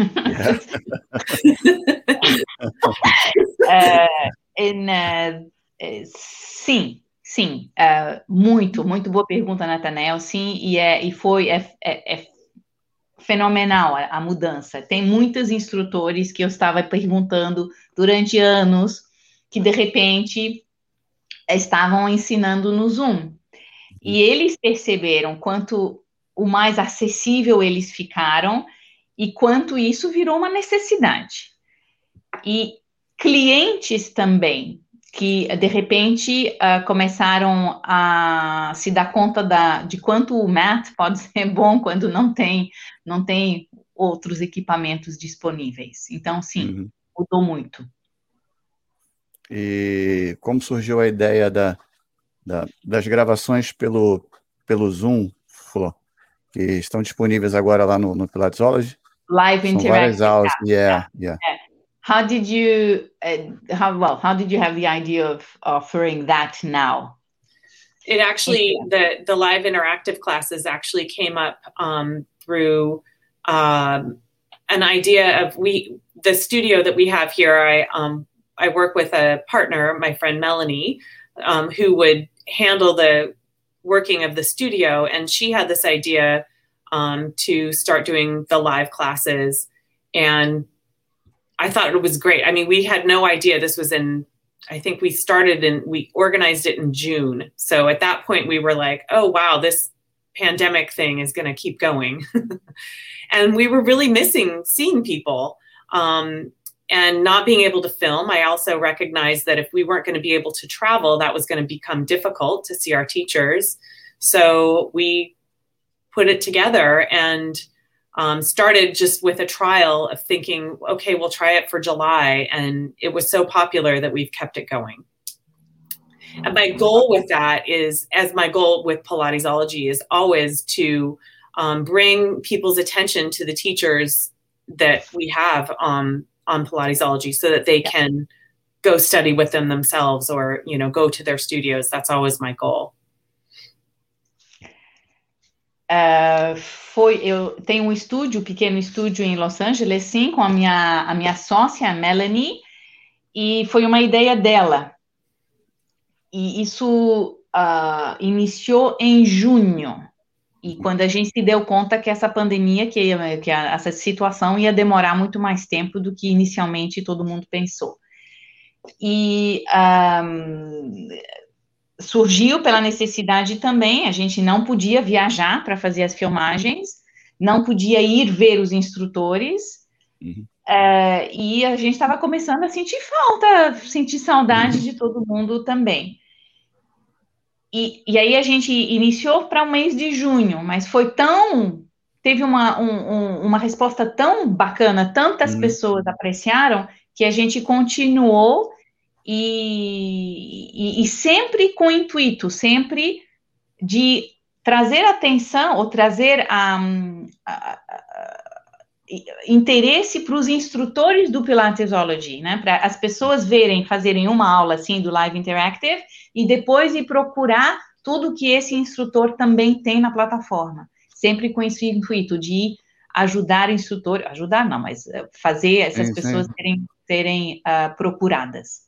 [SPEAKER 2] Sim. Muito boa pergunta, Nathanael. Sim, e foi fenomenal a mudança. Tem muitos instrutores que eu estava perguntando durante anos que, de repente, estavam ensinando no Zoom. E eles perceberam quanto o mais acessível eles ficaram e quanto isso virou uma necessidade. E clientes também, que de repente começaram a se dar conta de quanto o mat pode ser bom quando não tem outros equipamentos disponíveis. Então, sim, mudou muito.
[SPEAKER 1] E como surgiu a ideia das gravações pelo Zoom, Flor, que estão disponíveis agora lá no Pilatesology?
[SPEAKER 2] Live interactive.
[SPEAKER 1] Aulas. Yeah.
[SPEAKER 2] How did you have the idea of offering that now?
[SPEAKER 4] It actually, the live interactive classes actually came up through an idea of the studio that we have here. I work with a partner, my friend Melanie, who would handle the working of the studio, and she had this idea to start doing the live classes, and I thought it was great. I mean, we had no idea this was I think we organized it in June. So at that point we were like, oh, wow, this pandemic thing is going to keep going. And we were really missing seeing people. And not being able to film, I also recognized that if we weren't going to be able to travel, that was going to become difficult to see our teachers. So we put it together and started just with a trial of thinking, okay, we'll try it for July. And it was so popular that we've kept it going. And my goal with that is, as my goal with Pilatesology is always to bring people's attention to the teachers that we have on Pilatesology so that they can go study with them themselves or, you know, go to their studios. That's always my goal.
[SPEAKER 2] Eu tenho um estúdio, pequeno estúdio em Los Angeles, sim, com a minha sócia, a Melanie, e foi uma ideia dela. E isso iniciou em junho. E quando a gente se deu conta que essa pandemia, que essa situação ia demorar muito mais tempo do que inicialmente todo mundo pensou. E surgiu pela necessidade também, a gente não podia viajar para fazer as filmagens, não podia ir ver os instrutores, e a gente estava começando a sentir falta, sentir saudade de todo mundo também. E aí a gente iniciou para o mês de junho, mas teve uma resposta tão bacana, tantas pessoas apreciaram, que a gente continuou e sempre com o intuito, sempre de trazer atenção ou trazer interesse para os instrutores do Pilatesology, né? Para as pessoas fazerem uma aula assim do Live Interactive e depois ir procurar tudo que esse instrutor também tem na plataforma, sempre com esse intuito de ajudar mas fazer essas pessoas serem procuradas.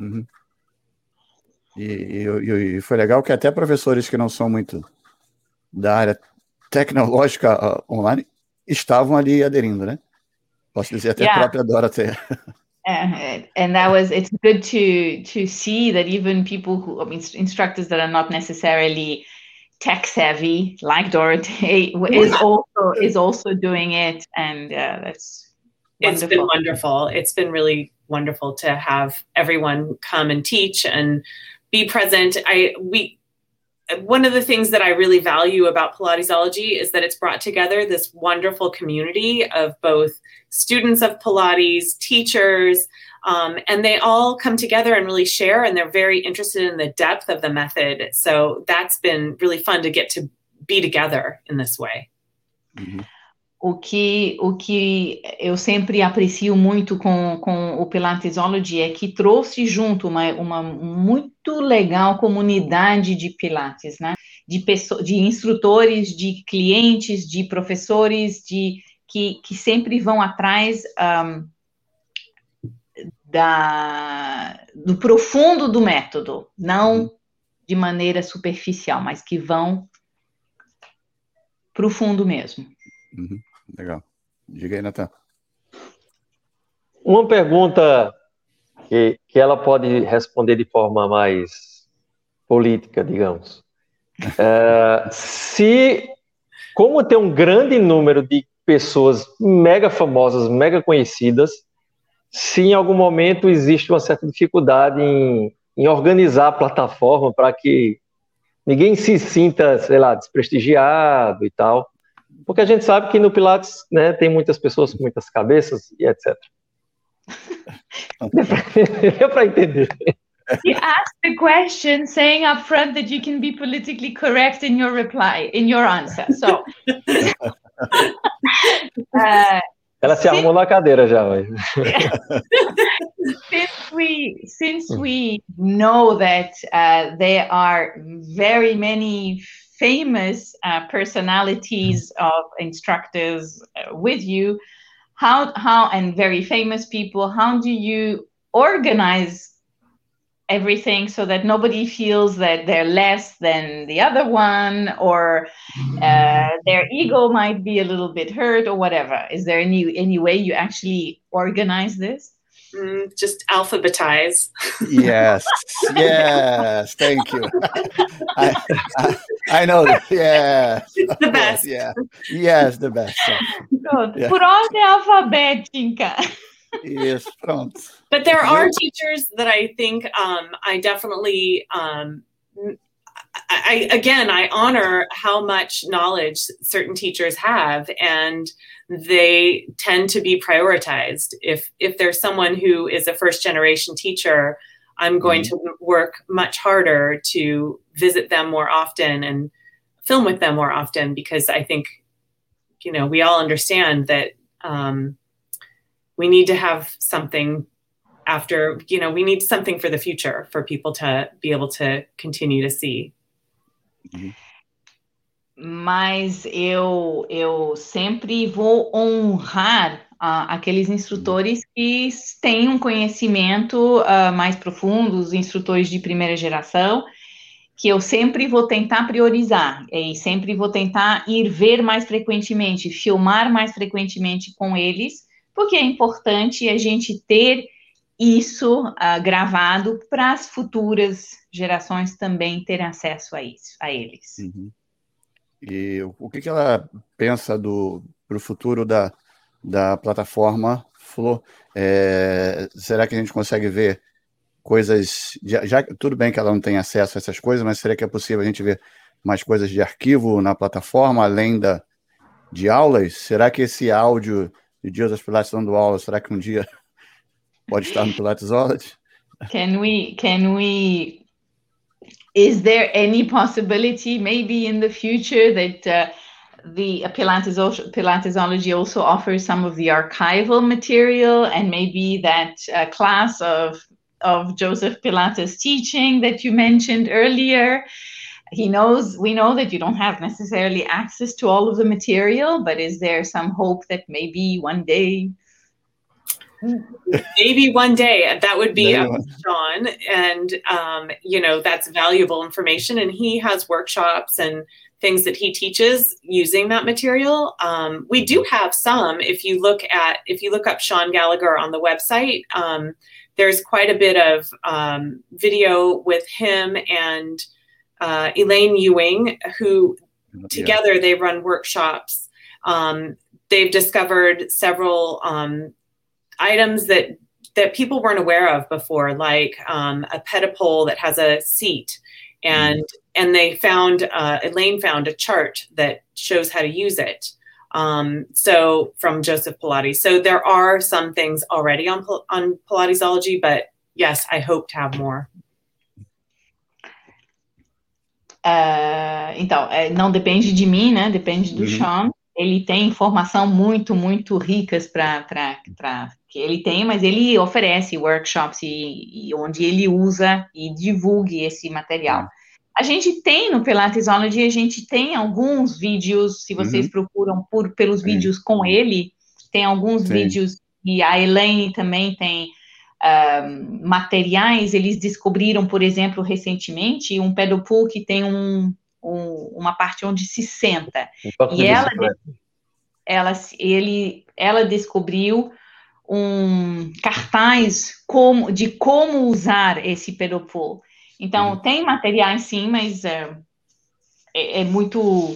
[SPEAKER 1] E foi legal que até professores que não são muito da área tecnológica online estavam ali aderindo, né? Posso dizer até a própria Dorothea.
[SPEAKER 2] And it's good to see that even people instructors that are not necessarily tech savvy, like Dorothea, is also doing it, and that's wonderful.
[SPEAKER 4] It's been wonderful. It's been really wonderful to have everyone come and teach and be present. One of the things that I really value about Pilatesology is that it's brought together this wonderful community of both students of Pilates, teachers, and they all come together and really share, and they're very interested in the depth of the method. So that's been really fun to get to be together in this way.
[SPEAKER 2] O que eu sempre aprecio muito com o Pilatesology é que trouxe junto uma muito legal comunidade de Pilates, né? De instrutores, de clientes, de professores, que sempre vão atrás do profundo do método, não de maneira superficial, mas que vão profundo mesmo.
[SPEAKER 1] Legal. Diga aí, Natan.
[SPEAKER 3] Uma pergunta que ela pode responder de forma mais política, digamos. Como tem um grande número de pessoas mega famosas, mega conhecidas, se em algum momento existe uma certa dificuldade em organizar a plataforma para que ninguém se sinta, sei lá, desprestigiado e tal. Porque a gente sabe que no Pilates, né, tem muitas pessoas com muitas cabeças e etc. Deu para entender.
[SPEAKER 2] You asked the question saying up front that you can be politically correct in your reply, in your answer. So,
[SPEAKER 3] ela se arrumou na cadeira já.
[SPEAKER 2] Since we know that there are very many famous personalities of instructors with you, how and very famous people, how do you organize everything so that nobody feels that they're less than the other one, or their ego might be a little bit hurt or whatever? Is there any way you actually organize this?
[SPEAKER 4] Just alphabetize.
[SPEAKER 1] Yes, thank you. I know that. Yeah,
[SPEAKER 4] it's the best.
[SPEAKER 1] Yeah, yes, the best.
[SPEAKER 2] Por ordem alfabética.
[SPEAKER 1] Yes, pronto.
[SPEAKER 4] But there are teachers that I think I definitely, I honor how much knowledge certain teachers have, and they tend to be prioritized. If there's someone who is a first generation teacher, I'm going to work much harder to visit them more often and film with them more often, because I think, we all understand that we need to have something after, we need something for the future for people to be able to continue to see.
[SPEAKER 2] Mas eu sempre vou honrar aqueles instrutores que têm um conhecimento mais profundo, os instrutores de primeira geração, que eu sempre vou tentar priorizar, e sempre vou tentar ir ver mais frequentemente, filmar mais frequentemente com eles, porque é importante a gente ter isso gravado para as futuras gerações também terem acesso a eles.
[SPEAKER 1] E o que ela pensa para o futuro da plataforma Flow? Será que a gente consegue ver coisas... Já, tudo bem que ela não tem acesso a essas coisas, mas será que é possível a gente ver mais coisas de arquivo na plataforma, além de aulas? Será que esse áudio de Joseph Pilates dando aula, será que um dia pode estar no Pilatesology?
[SPEAKER 2] Is there any possibility, maybe in the future, that the Pilatesology also offers some of the archival material, and maybe that class of Joseph Pilates teaching that you mentioned earlier? We know that you don't have necessarily access to all of the material, but is there some hope that maybe one day?
[SPEAKER 4] Maybe one day. That would be up to Sean, and that's valuable information, and he has workshops and things that he teaches using that material. We do have some. If you look up Sean Gallagher on the website, there's quite a bit of video with him and Elaine Ewing, who together they run workshops. They've discovered several items that people weren't aware of before, like a pedipole that has a seat, and they found Elaine found a chart that shows how to use it. So from Joseph Pilates. So there are some things already on Pilatesology, but yes, I hope to have more.
[SPEAKER 2] Então, não depende de mim, né? Depende do Sean. Ele tem informação muito, muito ricas para que ele tem, mas ele oferece workshops e onde ele usa e divulgue esse material. A gente tem no Pilatesology, a gente tem alguns vídeos, se vocês procuram pelos vídeos com ele, tem alguns vídeos, e a Elaine também tem materiais. Eles descobriram, por exemplo, recentemente, um pedal pool que tem uma parte onde se senta. E ela descobriu um cartaz de como usar esse pedal pool. Então, tem materiais sim, mas é muito...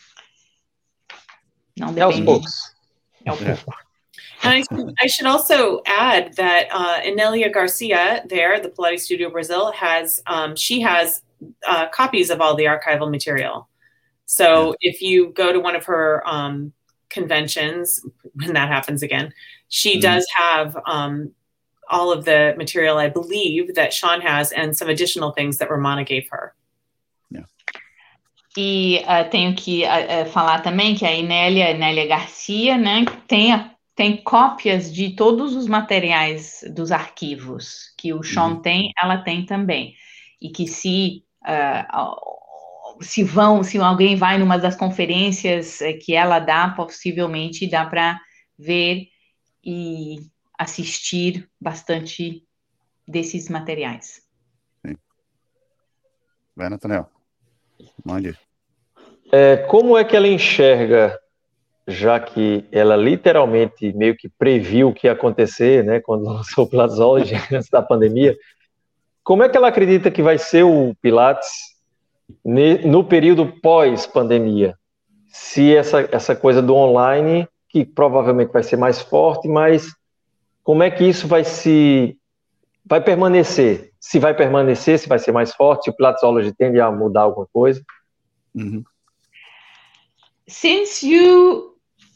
[SPEAKER 2] Não depende.
[SPEAKER 3] É aos poucos.
[SPEAKER 2] É aos poucos.
[SPEAKER 4] And I should also add that Enelia Garcia there, the Pilates Studio Brazil, she has copies of all the archival material. So if you go to one of her conventions, when that happens again, she does have all of the material, I believe, that Sean has, and some additional things that Romana gave her.
[SPEAKER 2] E tenho que falar também que a Enélia Garcia, né, tem cópias de todos os materiais dos arquivos que o Sean tem, ela tem também. E que se alguém vai numa das conferências que ela dá, possivelmente dá para ver e assistir bastante desses materiais.
[SPEAKER 1] Sim. Vai, Nathaniel. Mande.
[SPEAKER 3] Como é que ela enxerga, já que ela literalmente meio que previu o que ia acontecer, né, quando lançou o Pilatesology antes da pandemia, como é que ela acredita que vai ser o Pilates no período pós-pandemia? Se essa coisa do online, que provavelmente vai ser mais forte, mas como é que isso vai permanecer? Se vai permanecer, se vai ser mais forte, se o Pilatesology tende a mudar alguma coisa?
[SPEAKER 2] Mm-hmm. Since you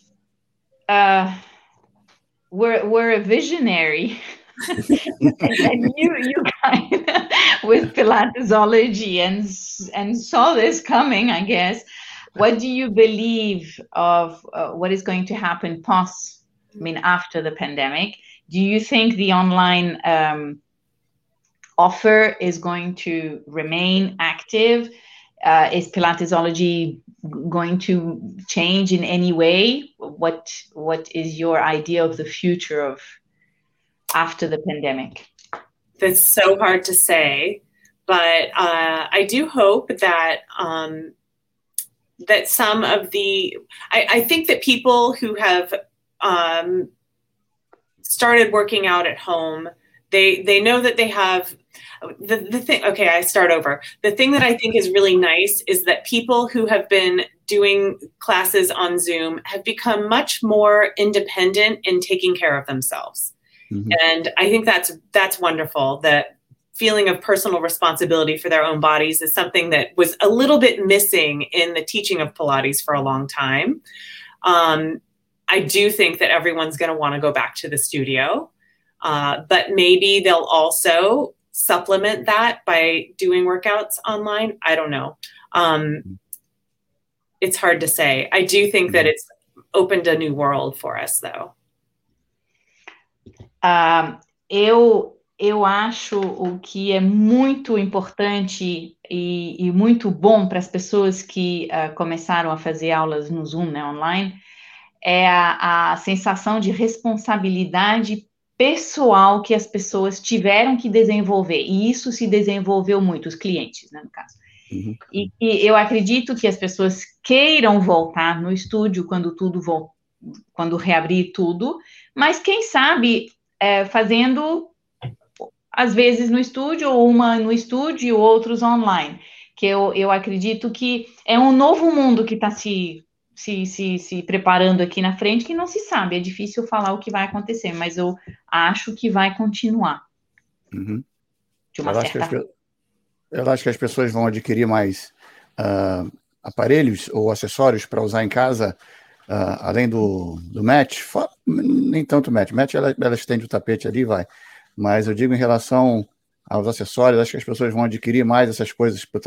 [SPEAKER 2] were a visionary and you kind of, with Pilatesology and saw this coming, I guess, what do you believe of what is going to happen after the pandemic? Do you think the online offer is going to remain active? Is Pilatesology going to change in any way? What is your idea of the future of after the pandemic?
[SPEAKER 4] That's so hard to say, but I do hope that that some of I think that people who have started working out at home, they know that they have the thing. Okay, I start over. The thing that I think is really nice is that people who have been doing classes on Zoom have become much more independent in taking care of themselves. Mm-hmm. And I think that's wonderful. That feeling of personal responsibility for their own bodies is something that was a little bit missing in the teaching of Pilates for a long time. I do think that everyone's going to want to go back to the studio, but maybe they'll also supplement that by doing workouts online. I don't know. It's hard to say. I do think that it's opened a new world for us, though.
[SPEAKER 2] Eu acho o que é muito importante e muito bom para as pessoas que começaram a fazer aulas no Zoom, né, online, é a sensação de responsabilidade pessoal que as pessoas tiveram que desenvolver, e isso se desenvolveu muito, os clientes, né, no caso. Uhum. E eu acredito que as pessoas queiram voltar no estúdio quando reabrir tudo, mas quem sabe fazendo, às vezes no estúdio, ou uma no estúdio e outros online, que eu acredito que é um novo mundo que está se preparando aqui na frente, que não se sabe, é difícil falar o que vai acontecer, mas eu acho que vai continuar.
[SPEAKER 1] Uhum. De uma certa forma. Eu acho que as pessoas vão adquirir mais aparelhos ou acessórios para usar em casa, além do mat, nem tanto mat, ela estende o tapete ali, vai, mas eu digo em relação aos acessórios, acho que as pessoas vão adquirir mais essas coisas para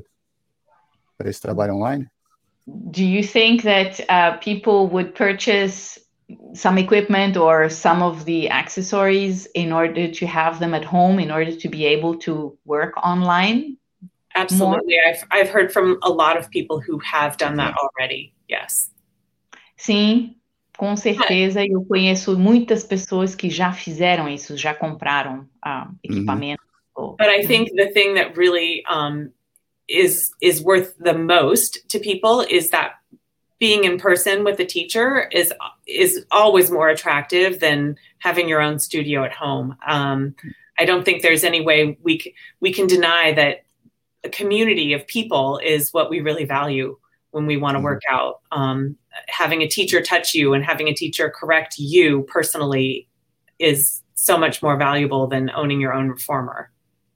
[SPEAKER 1] esse trabalho online.
[SPEAKER 2] Do you think that people would purchase some equipment or some of the accessories in order to have them at home, in order to be able to work online?
[SPEAKER 4] Absolutely. I've heard from a lot of people who have done that already. Yes.
[SPEAKER 2] Sim, com certeza. Eu conheço muitas pessoas que já fizeram isso, já compraram equipamento.
[SPEAKER 4] But I think the thing that really is worth the most to people is that being in person with a teacher is always more attractive than having your own studio at home. I don't think there's any way we can deny that a community of people is what we really value when we want to work out. Having a teacher touch you and having a teacher correct you personally is so much more valuable than owning your own reformer.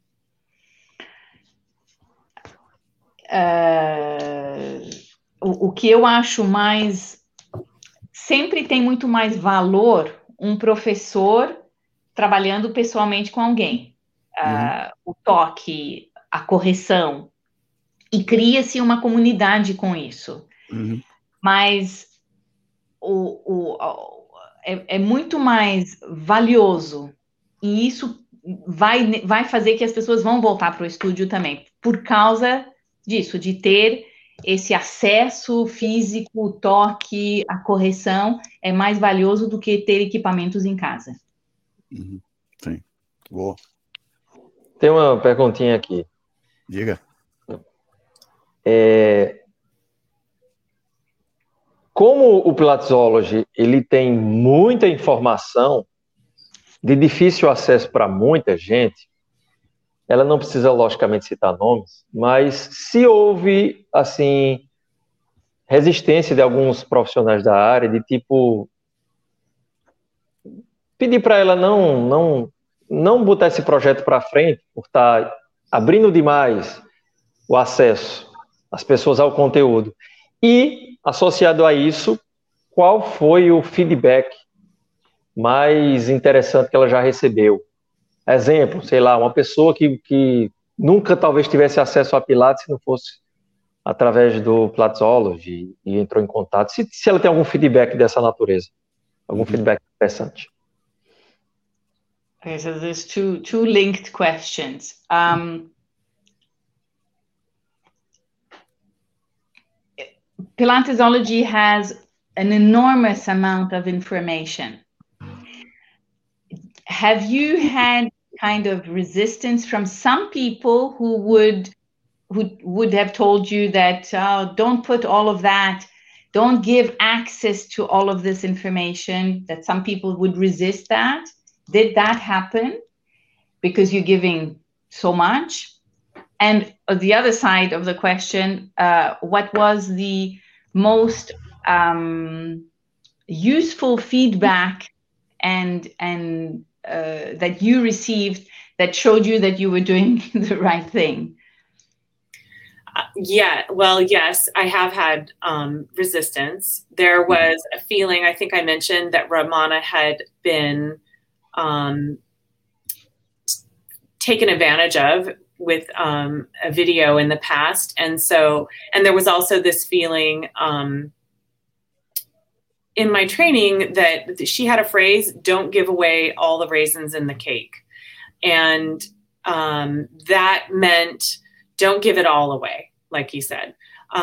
[SPEAKER 2] O que eu acho sempre tem muito mais valor um professor trabalhando pessoalmente com alguém. O toque, a correção, e cria-se uma comunidade com isso. Mas é muito mais valioso, e isso vai fazer que as pessoas vão voltar para o estúdio também, por causa disso, de ter esse acesso físico, o toque, a correção, é mais valioso do que ter equipamentos em casa.
[SPEAKER 1] Sim, boa.
[SPEAKER 3] Tem uma perguntinha aqui.
[SPEAKER 1] Diga.
[SPEAKER 3] Como o Pilatesology, ele tem muita informação de difícil acesso para muita gente, ela não precisa, logicamente, citar nomes, mas se houve, assim, resistência de alguns profissionais da área, de tipo, pedir para ela não botar esse projeto para frente, por estar abrindo demais o acesso das pessoas ao conteúdo. E, associado a isso, qual foi o feedback mais interessante que ela já recebeu? Exemplo, sei lá, uma pessoa que nunca talvez tivesse acesso a Pilates se não fosse através do Pilatesology e entrou em contato. Se ela tem algum feedback dessa natureza, algum feedback interessante.
[SPEAKER 2] Okay, so there's two linked questions. Pilatesology has an enormous amount of information. Have you had kind of resistance from some people who would have told you that don't put all of that, don't give access to all of this information, that some people would resist that? Did that happen because you're giving so much? And the other side of the question, what was the most useful feedback and that you received that showed you that you were doing the right thing?
[SPEAKER 4] Yes, I have had resistance. There was a feeling, I think I mentioned that Ramana had been taken advantage of with a video in the past. And there was also this feeling in my training that she had a phrase, don't give away all the raisins in the cake. And that meant don't give it all away, like you said.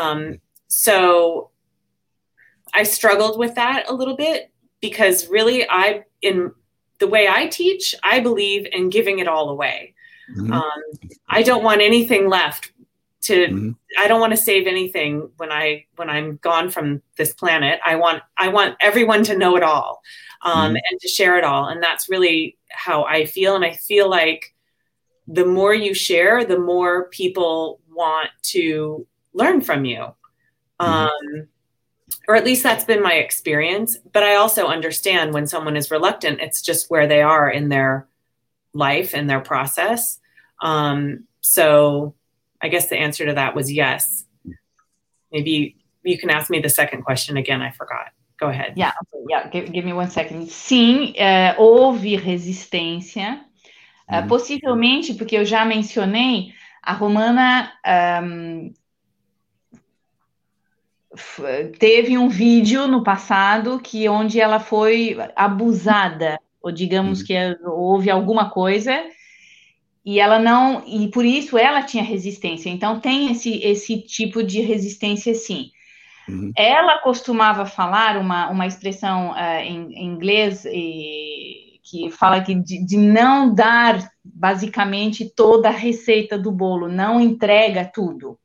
[SPEAKER 4] So I struggled with that a little bit because really in the way I teach, I believe in giving it all away. I don't want anything left I don't want to save anything when I'm gone from this planet. I want everyone to know it all, and to share it all. And that's really how I feel. And I feel like the more you share, the more people want to learn from you. Or at least that's been my experience. But I also understand when someone is reluctant, it's just where they are in their life and their process. So I guess the answer to that was yes. Maybe you can ask me the second question again. I forgot. Go ahead.
[SPEAKER 2] Yeah. Give me 1 second. Sim, houve resistência. Possivelmente, porque eu já mencionei, a Romana teve um vídeo no passado onde ela foi abusada, ou digamos que houve alguma coisa, e ela não, e por isso ela tinha resistência. Então tem esse tipo de resistência, sim. Ela costumava falar uma expressão em inglês que fala de não dar basicamente toda a receita do bolo, não entrega tudo.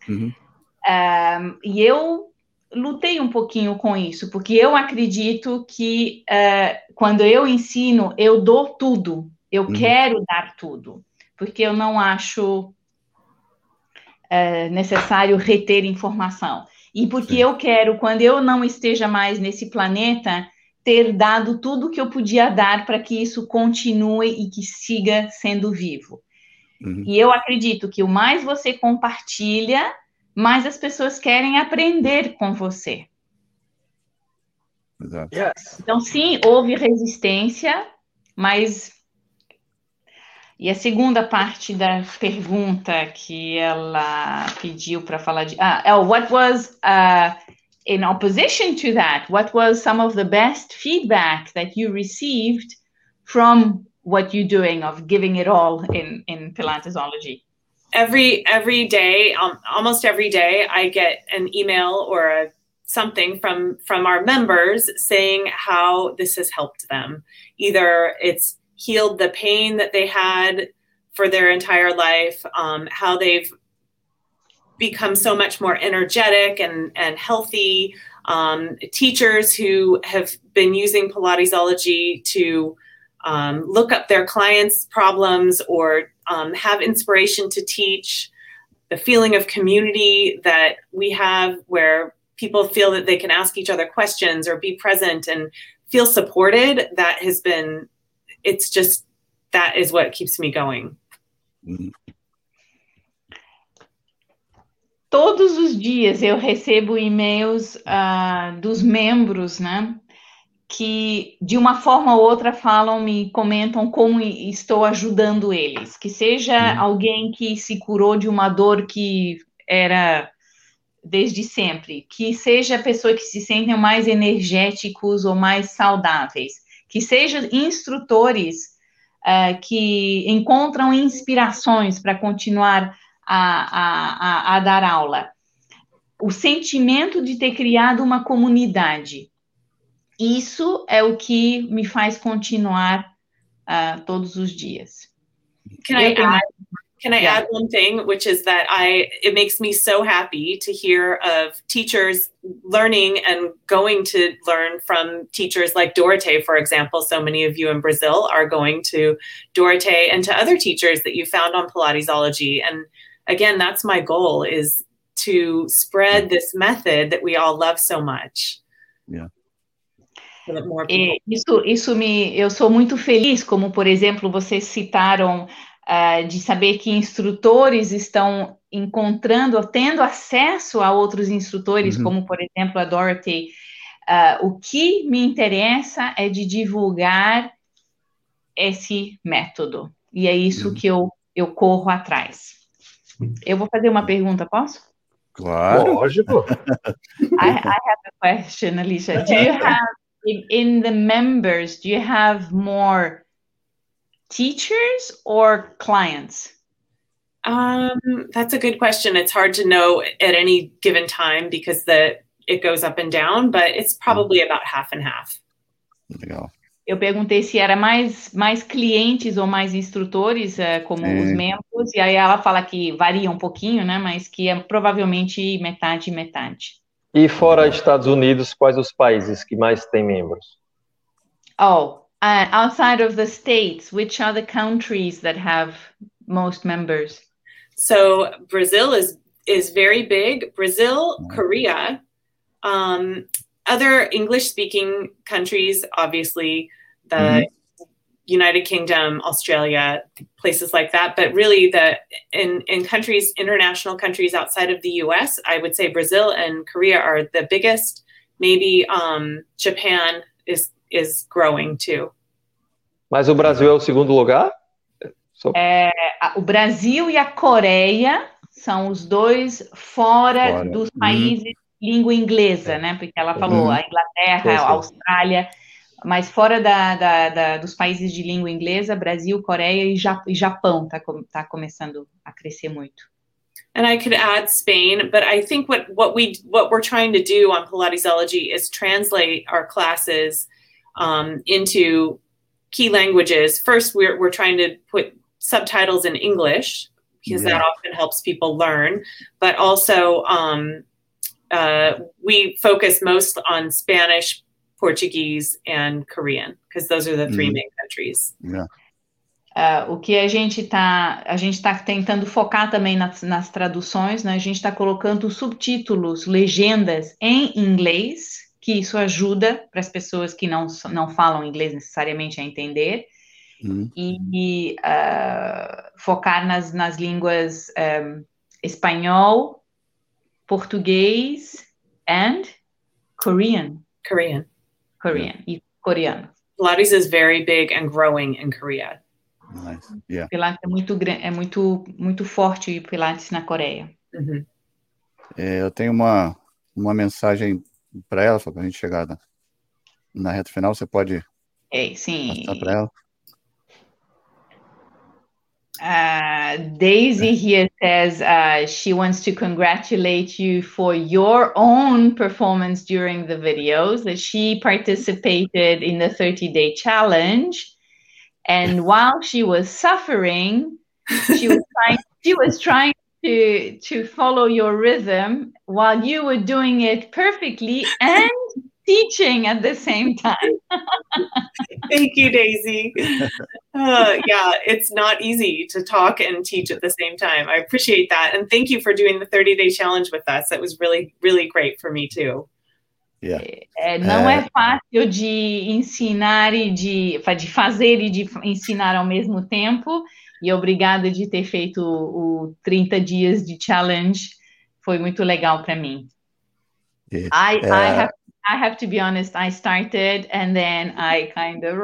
[SPEAKER 2] E eu lutei um pouquinho com isso, porque eu acredito que quando eu ensino, eu dou tudo, eu quero dar tudo, porque eu não acho necessário reter informação. E porque eu quero, quando eu não esteja mais nesse planeta, ter dado tudo que eu podia dar para que isso continue e que siga sendo vivo. E eu acredito que o mais você compartilha, mais as pessoas querem aprender com você.
[SPEAKER 1] Exato.
[SPEAKER 2] Então, sim, houve resistência, mas... E a segunda parte da pergunta que ela pediu para falar de... what was, in opposition to that, what was some of the best feedback that you received from what you're doing of giving it all in Pilatesology?
[SPEAKER 4] Every day, almost every day, I get an email or something from our members saying how this has helped them. Either it's healed the pain that they had for their entire life, how they've become so much more energetic and healthy, teachers who have been using Pilatesology to look up their clients' problems or have inspiration to teach, the feeling of community that we have where people feel that they can ask each other questions or be present and feel supported, that is what keeps me going.
[SPEAKER 2] Todos os dias eu recebo e-mails dos membros, né, que de uma forma ou outra me comentam como estou ajudando eles, que seja alguém que se curou de uma dor que era desde sempre, que seja pessoa que se sentem mais energéticos ou mais saudáveis, que seja instrutores que encontram inspirações para continuar a dar aula. O sentimento de ter criado uma comunidade, isso é o que me faz continuar todos os dias.
[SPEAKER 4] Can I add one thing, which is that it makes me so happy to hear of teachers learning and going to learn from teachers like Dorothée, for example. So many of you in Brazil are going to Dorothée and to other teachers that you found on Pilatesology. And again, that's my goal, is to spread this method that we all love so much.
[SPEAKER 1] Yeah.
[SPEAKER 2] Eu sou muito feliz, como por exemplo, vocês citaram de saber que instrutores estão tendo acesso a outros instrutores, como por exemplo a Dorothée. O que me interessa é de divulgar esse método, e é isso que eu corro atrás. Eu vou fazer uma pergunta, posso?
[SPEAKER 1] Claro.
[SPEAKER 3] Lógico.
[SPEAKER 2] I have a question, Alicia. Do you have, in the members, do you have more teachers or clients?
[SPEAKER 4] That's a good question. It's hard to know at any given time because it goes up and down, but it's probably about half and half.
[SPEAKER 1] Legal.
[SPEAKER 2] Eu perguntei se era mais clientes ou mais instrutores, como os membros, e aí ela fala que varia um pouquinho, né, mas que é provavelmente metade e metade.
[SPEAKER 3] E fora Estados Unidos, quais os países que mais têm membros?
[SPEAKER 2] Outside of the States, which are the countries that have most members?
[SPEAKER 4] So Brazil is very big. Brazil, Korea, other English-speaking countries, obviously, the United Kingdom, Australia, places like that. But really, in countries, international countries outside of the U.S., I would say Brazil and Korea are the biggest. Maybe Japan is growing too.
[SPEAKER 3] Mas o Brasil é o segundo lugar?
[SPEAKER 2] O Brasil e a Coreia são os dois fora dos países de língua inglesa, né? Porque ela falou a Inglaterra, a Austrália, mas fora dos países de língua inglesa, Brasil, Coreia e Japão tá começando a crescer muito.
[SPEAKER 4] And I could add Spain, but I think what we're trying to do on Pilatesology is translate our classes into key languages. First, we're trying to put subtitles in English because that often helps people learn, but also we focus most on Spanish, Portuguese, and Korean because those are the three main countries.
[SPEAKER 1] Yeah.
[SPEAKER 2] O que a gente tá tentando focar também nas traduções, né? A gente está colocando subtítulos, legendas em inglês, que isso ajuda para as pessoas que não falam inglês necessariamente a entender, e focar nas línguas espanhol, português and Korean. E coreano.
[SPEAKER 4] Pilates is very big and growing in Korea.
[SPEAKER 1] Nice. Yeah.
[SPEAKER 2] Pilates é muito forte, o Pilates na Coreia.
[SPEAKER 1] Eu tenho uma mensagem para ela, para a gente chegar na reta final. Você pode passar para ela?
[SPEAKER 2] Daisy here says she wants to congratulate you for your own performance during the videos, that she participated in the 30-day challenge, and while she was suffering, she was trying to follow your rhythm while you were doing it perfectly, and teaching at the same time.
[SPEAKER 4] Thank you, Daisy. Yeah, it's not easy to talk and teach at the same time. I appreciate that. And thank you for doing the 30-day challenge with us. That was really, really great for me too.
[SPEAKER 1] Yeah.
[SPEAKER 2] Não é fácil de ensinar e de fazer e de ensinar ao mesmo tempo. E obrigada de ter feito o 30 dias de challenge. Foi muito legal para mim. I have to be honest, I started and then I kind of...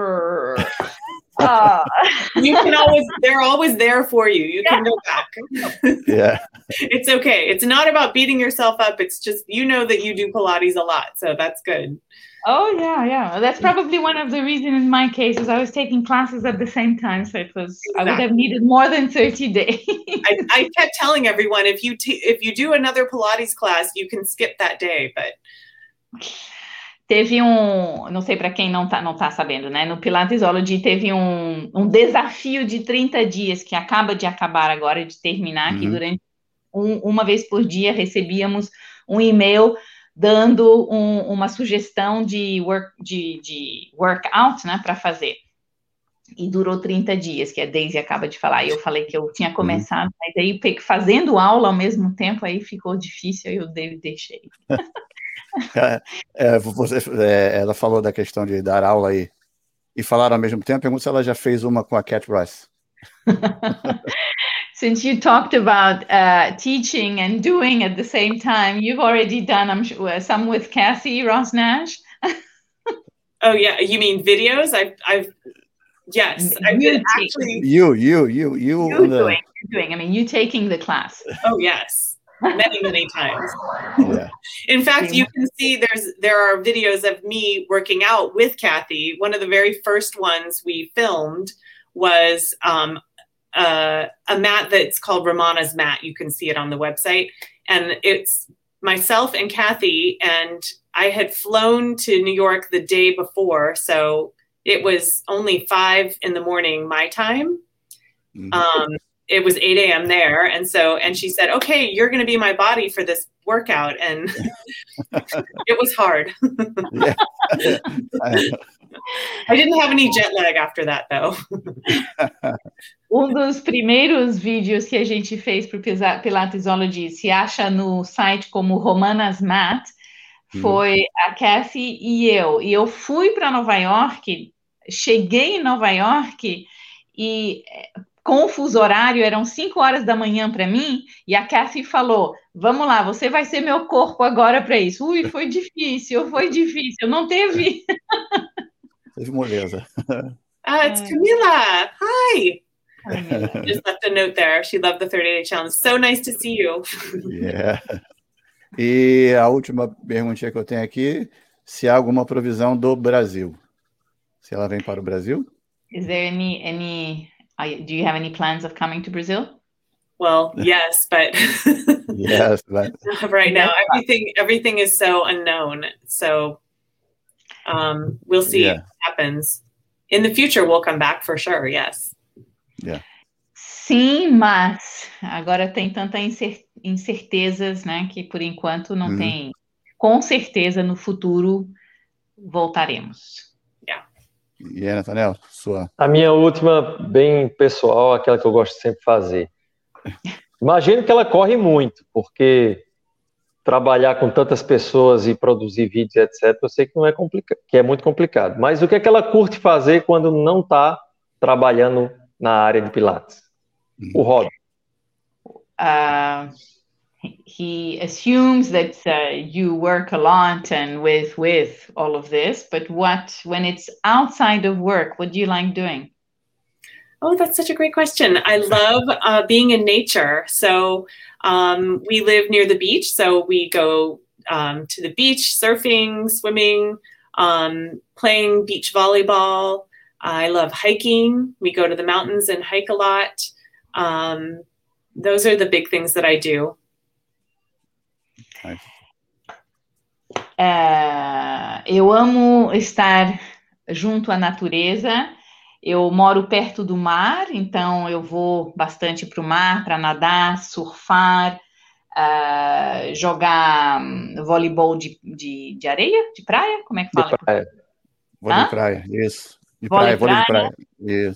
[SPEAKER 4] You can always, they're always there for you. You can go back.
[SPEAKER 1] Yeah.
[SPEAKER 4] It's okay. It's not about beating yourself up. It's just, you know that you do Pilates a lot. So that's good.
[SPEAKER 2] Oh, yeah. That's probably one of the reasons in my case is I was taking classes at the same time. So it was, exactly. I would have needed more than 30 days.
[SPEAKER 4] I kept telling everyone, if you do another Pilates class, you can skip that day, but...
[SPEAKER 2] Teve não sei para quem não tá sabendo, né? No Pilatesology teve um desafio de 30 dias que acaba de acabar agora, de terminar, que durante uma vez por dia recebíamos um e-mail dando uma sugestão de workout, né, para fazer. E durou 30 dias, que a Daisy acaba de falar. E eu falei que eu tinha começado, mas aí fazendo aula ao mesmo tempo, aí ficou difícil, aí eu deixei.
[SPEAKER 1] Ela falou da questão de dar aula e falar ao mesmo tempo. Pergunto se ela já fez uma com a Cat Rice.
[SPEAKER 2] Since you talked about teaching and doing at the same time, you've already done, I'm sure, some with Kathy Ross Nash.
[SPEAKER 4] Oh yeah, you mean videos? Yes, I've been actually.
[SPEAKER 1] You doing.
[SPEAKER 2] I mean, you taking the class.
[SPEAKER 4] Oh yes. Many times.
[SPEAKER 1] Yeah.
[SPEAKER 4] In fact, you can see there are videos of me working out with Kathy. One of the very first ones we filmed was a mat that's called Romana's mat. You can see it on the website. And it's myself and Kathy, and I had flown to New York the day before, so it was only 5 a.m. my time. It was 8 a.m. there. And she said, okay, you're going to be my body for this workout. And it was hard. I didn't have any jet lag after that, though.
[SPEAKER 2] Dos primeiros vídeos que a gente fez para o Pilatesology se acha no site como Romana's Mat, foi a Kathy e eu. E eu fui para Nova York, cheguei em Nova York e... com o fuso horário, eram 5 horas da manhã para mim, e a Kathy falou, vamos lá, você vai ser meu corpo agora para isso. Foi difícil, não teve...
[SPEAKER 1] Teve moleza.
[SPEAKER 4] It's Camila. Hi. Just left a note there. She loved the 30-day challenge. So nice to see you.
[SPEAKER 1] Yeah. E a última perguntinha que eu tenho aqui, se há alguma provisão do Brasil. Se ela vem para o Brasil?
[SPEAKER 2] Is there any do you have any plans of coming to Brazil?
[SPEAKER 4] Well, yes, but right now everything is so unknown. So we'll see what happens. In the future, we'll come back for sure. Yes.
[SPEAKER 1] Yeah.
[SPEAKER 2] Sim, mas agora tem tanta incertezas, né? Que por enquanto não tem. Com certeza no futuro voltaremos.
[SPEAKER 1] E aí, Nathaniel, sua...
[SPEAKER 3] A minha última, bem pessoal, aquela que eu gosto de sempre fazer. Imagino que ela corre muito, porque trabalhar com tantas pessoas e produzir vídeos, etc., eu sei que não é complicado, que é muito complicado. Mas o que é que ela curte fazer quando não está trabalhando na área de Pilates? O hobby.
[SPEAKER 2] He assumes that you work a lot and with all of this, but when it's outside of work, what do you like doing?
[SPEAKER 4] Oh, that's such a great question. I love being in nature. So we live near the beach, so we go to the beach, surfing, swimming, playing beach volleyball. I love hiking. We go to the mountains and hike a lot. Those are the big things that I do.
[SPEAKER 2] Eu amo estar junto à natureza. Eu moro perto do mar, então eu vou bastante para o mar para nadar, surfar, jogar voleibol de areia, de praia, como é que fala?
[SPEAKER 3] De praia.
[SPEAKER 1] Vôlei de praia, isso.
[SPEAKER 2] Vôlei
[SPEAKER 1] de praia, isso.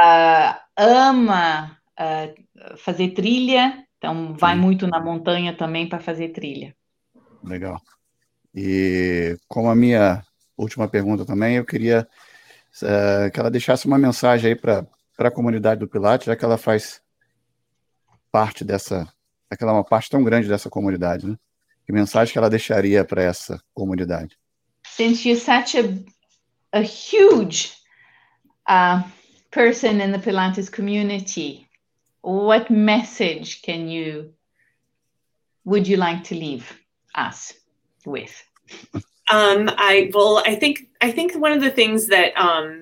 [SPEAKER 2] Ama fazer trilha, então vai muito na montanha também para fazer trilha.
[SPEAKER 1] Legal. E como a minha última pergunta também, eu queria que ela deixasse uma mensagem aí para a comunidade do Pilates, já que ela faz parte ela é uma parte tão grande dessa comunidade, né? Que mensagem que ela deixaria para essa comunidade?
[SPEAKER 2] Since you're such a huge person in the Pilates community, what message would you like to leave us with?
[SPEAKER 4] I think one of the things that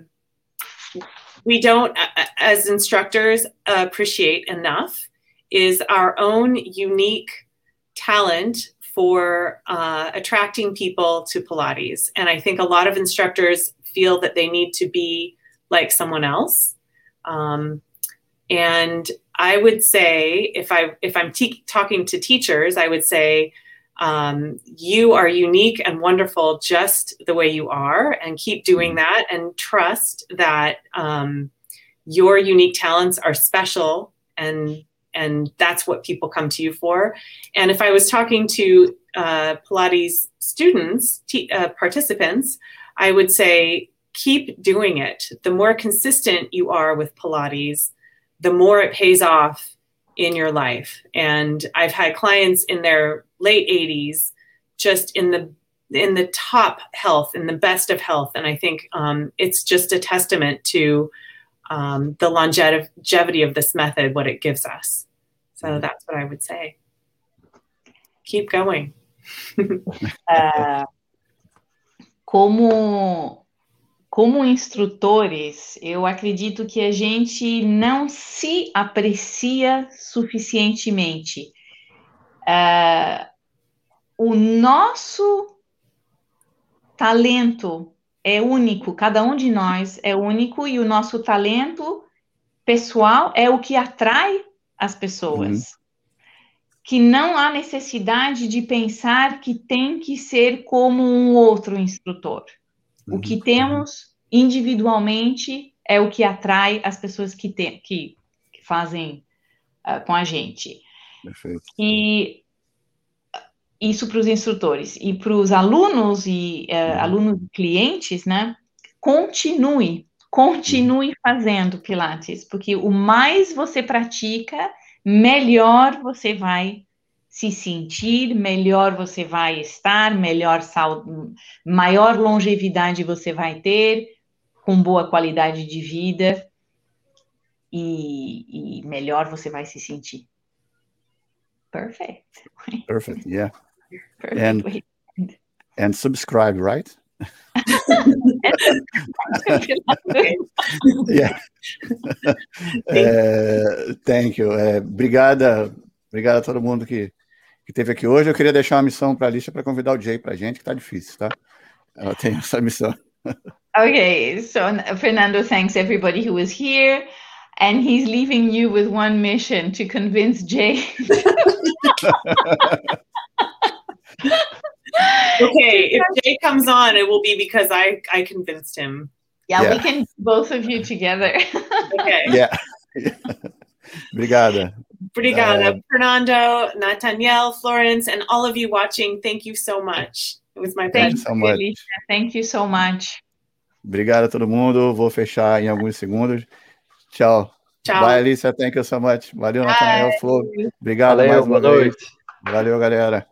[SPEAKER 4] we don't, as instructors, appreciate enough is our own unique talent for attracting people to Pilates. And I think a lot of instructors feel that they need to be like someone else. And I would say, if I'm talking to teachers, I would say, you are unique and wonderful just the way you are, and keep doing that, and trust that your unique talents are special, and that's what people come to you for. And if I was talking to Pilates students, participants, I would say, keep doing it. The more consistent you are with Pilates, the more it pays off in your life. And I've had clients in their late 80s, just in the top health, in the best of health. And I think it's just a testament to the longevity of this method, what it gives us. So that's what I would say. Keep going.
[SPEAKER 2] Como instrutores, eu acredito que a gente não se aprecia suficientemente. O nosso talento é único, cada um de nós é único, e o nosso talento pessoal é o que atrai as pessoas. Que não há necessidade de pensar que tem que ser como um outro instrutor. O que temos individualmente é o que atrai as pessoas que fazem com a gente.
[SPEAKER 1] Perfeito.
[SPEAKER 2] E isso para os instrutores. E para os alunos e alunos e clientes, né? Continue fazendo Pilates, porque o mais você pratica, melhor você vai se sentir, melhor você vai estar, maior longevidade você vai ter, com boa qualidade de vida, e melhor você vai se sentir. Perfect.
[SPEAKER 1] Perfect, yeah.
[SPEAKER 2] Perfect.
[SPEAKER 1] And subscribe, right? Yeah. Thank you. Obrigada a todo mundo que esteve aqui hoje. Eu queria deixar uma missão para a Alicia para convidar o Jay para a gente, que está difícil, tá? Ela tem essa missão.
[SPEAKER 2] Okay, so Fernando thanks everybody who was here, and he's leaving you with one mission: to convince Jay.
[SPEAKER 4] Okay, if Jay comes on, it will be because I convinced him.
[SPEAKER 2] Yeah, we can both of you together.
[SPEAKER 4] Okay.
[SPEAKER 1] Yeah. Obrigada.
[SPEAKER 4] Fernando, Nathaniel, Florence, and all of you watching, thank you so much. It was my pleasure.
[SPEAKER 2] Thank you so much.
[SPEAKER 1] Obrigado a todo mundo. Vou fechar em alguns segundos. Tchau.
[SPEAKER 4] Tchau.
[SPEAKER 1] Bye, Alicia. Thank you so much. Valeu, Nathaniel, Flor. Obrigado mais uma vez. Valeu, galera.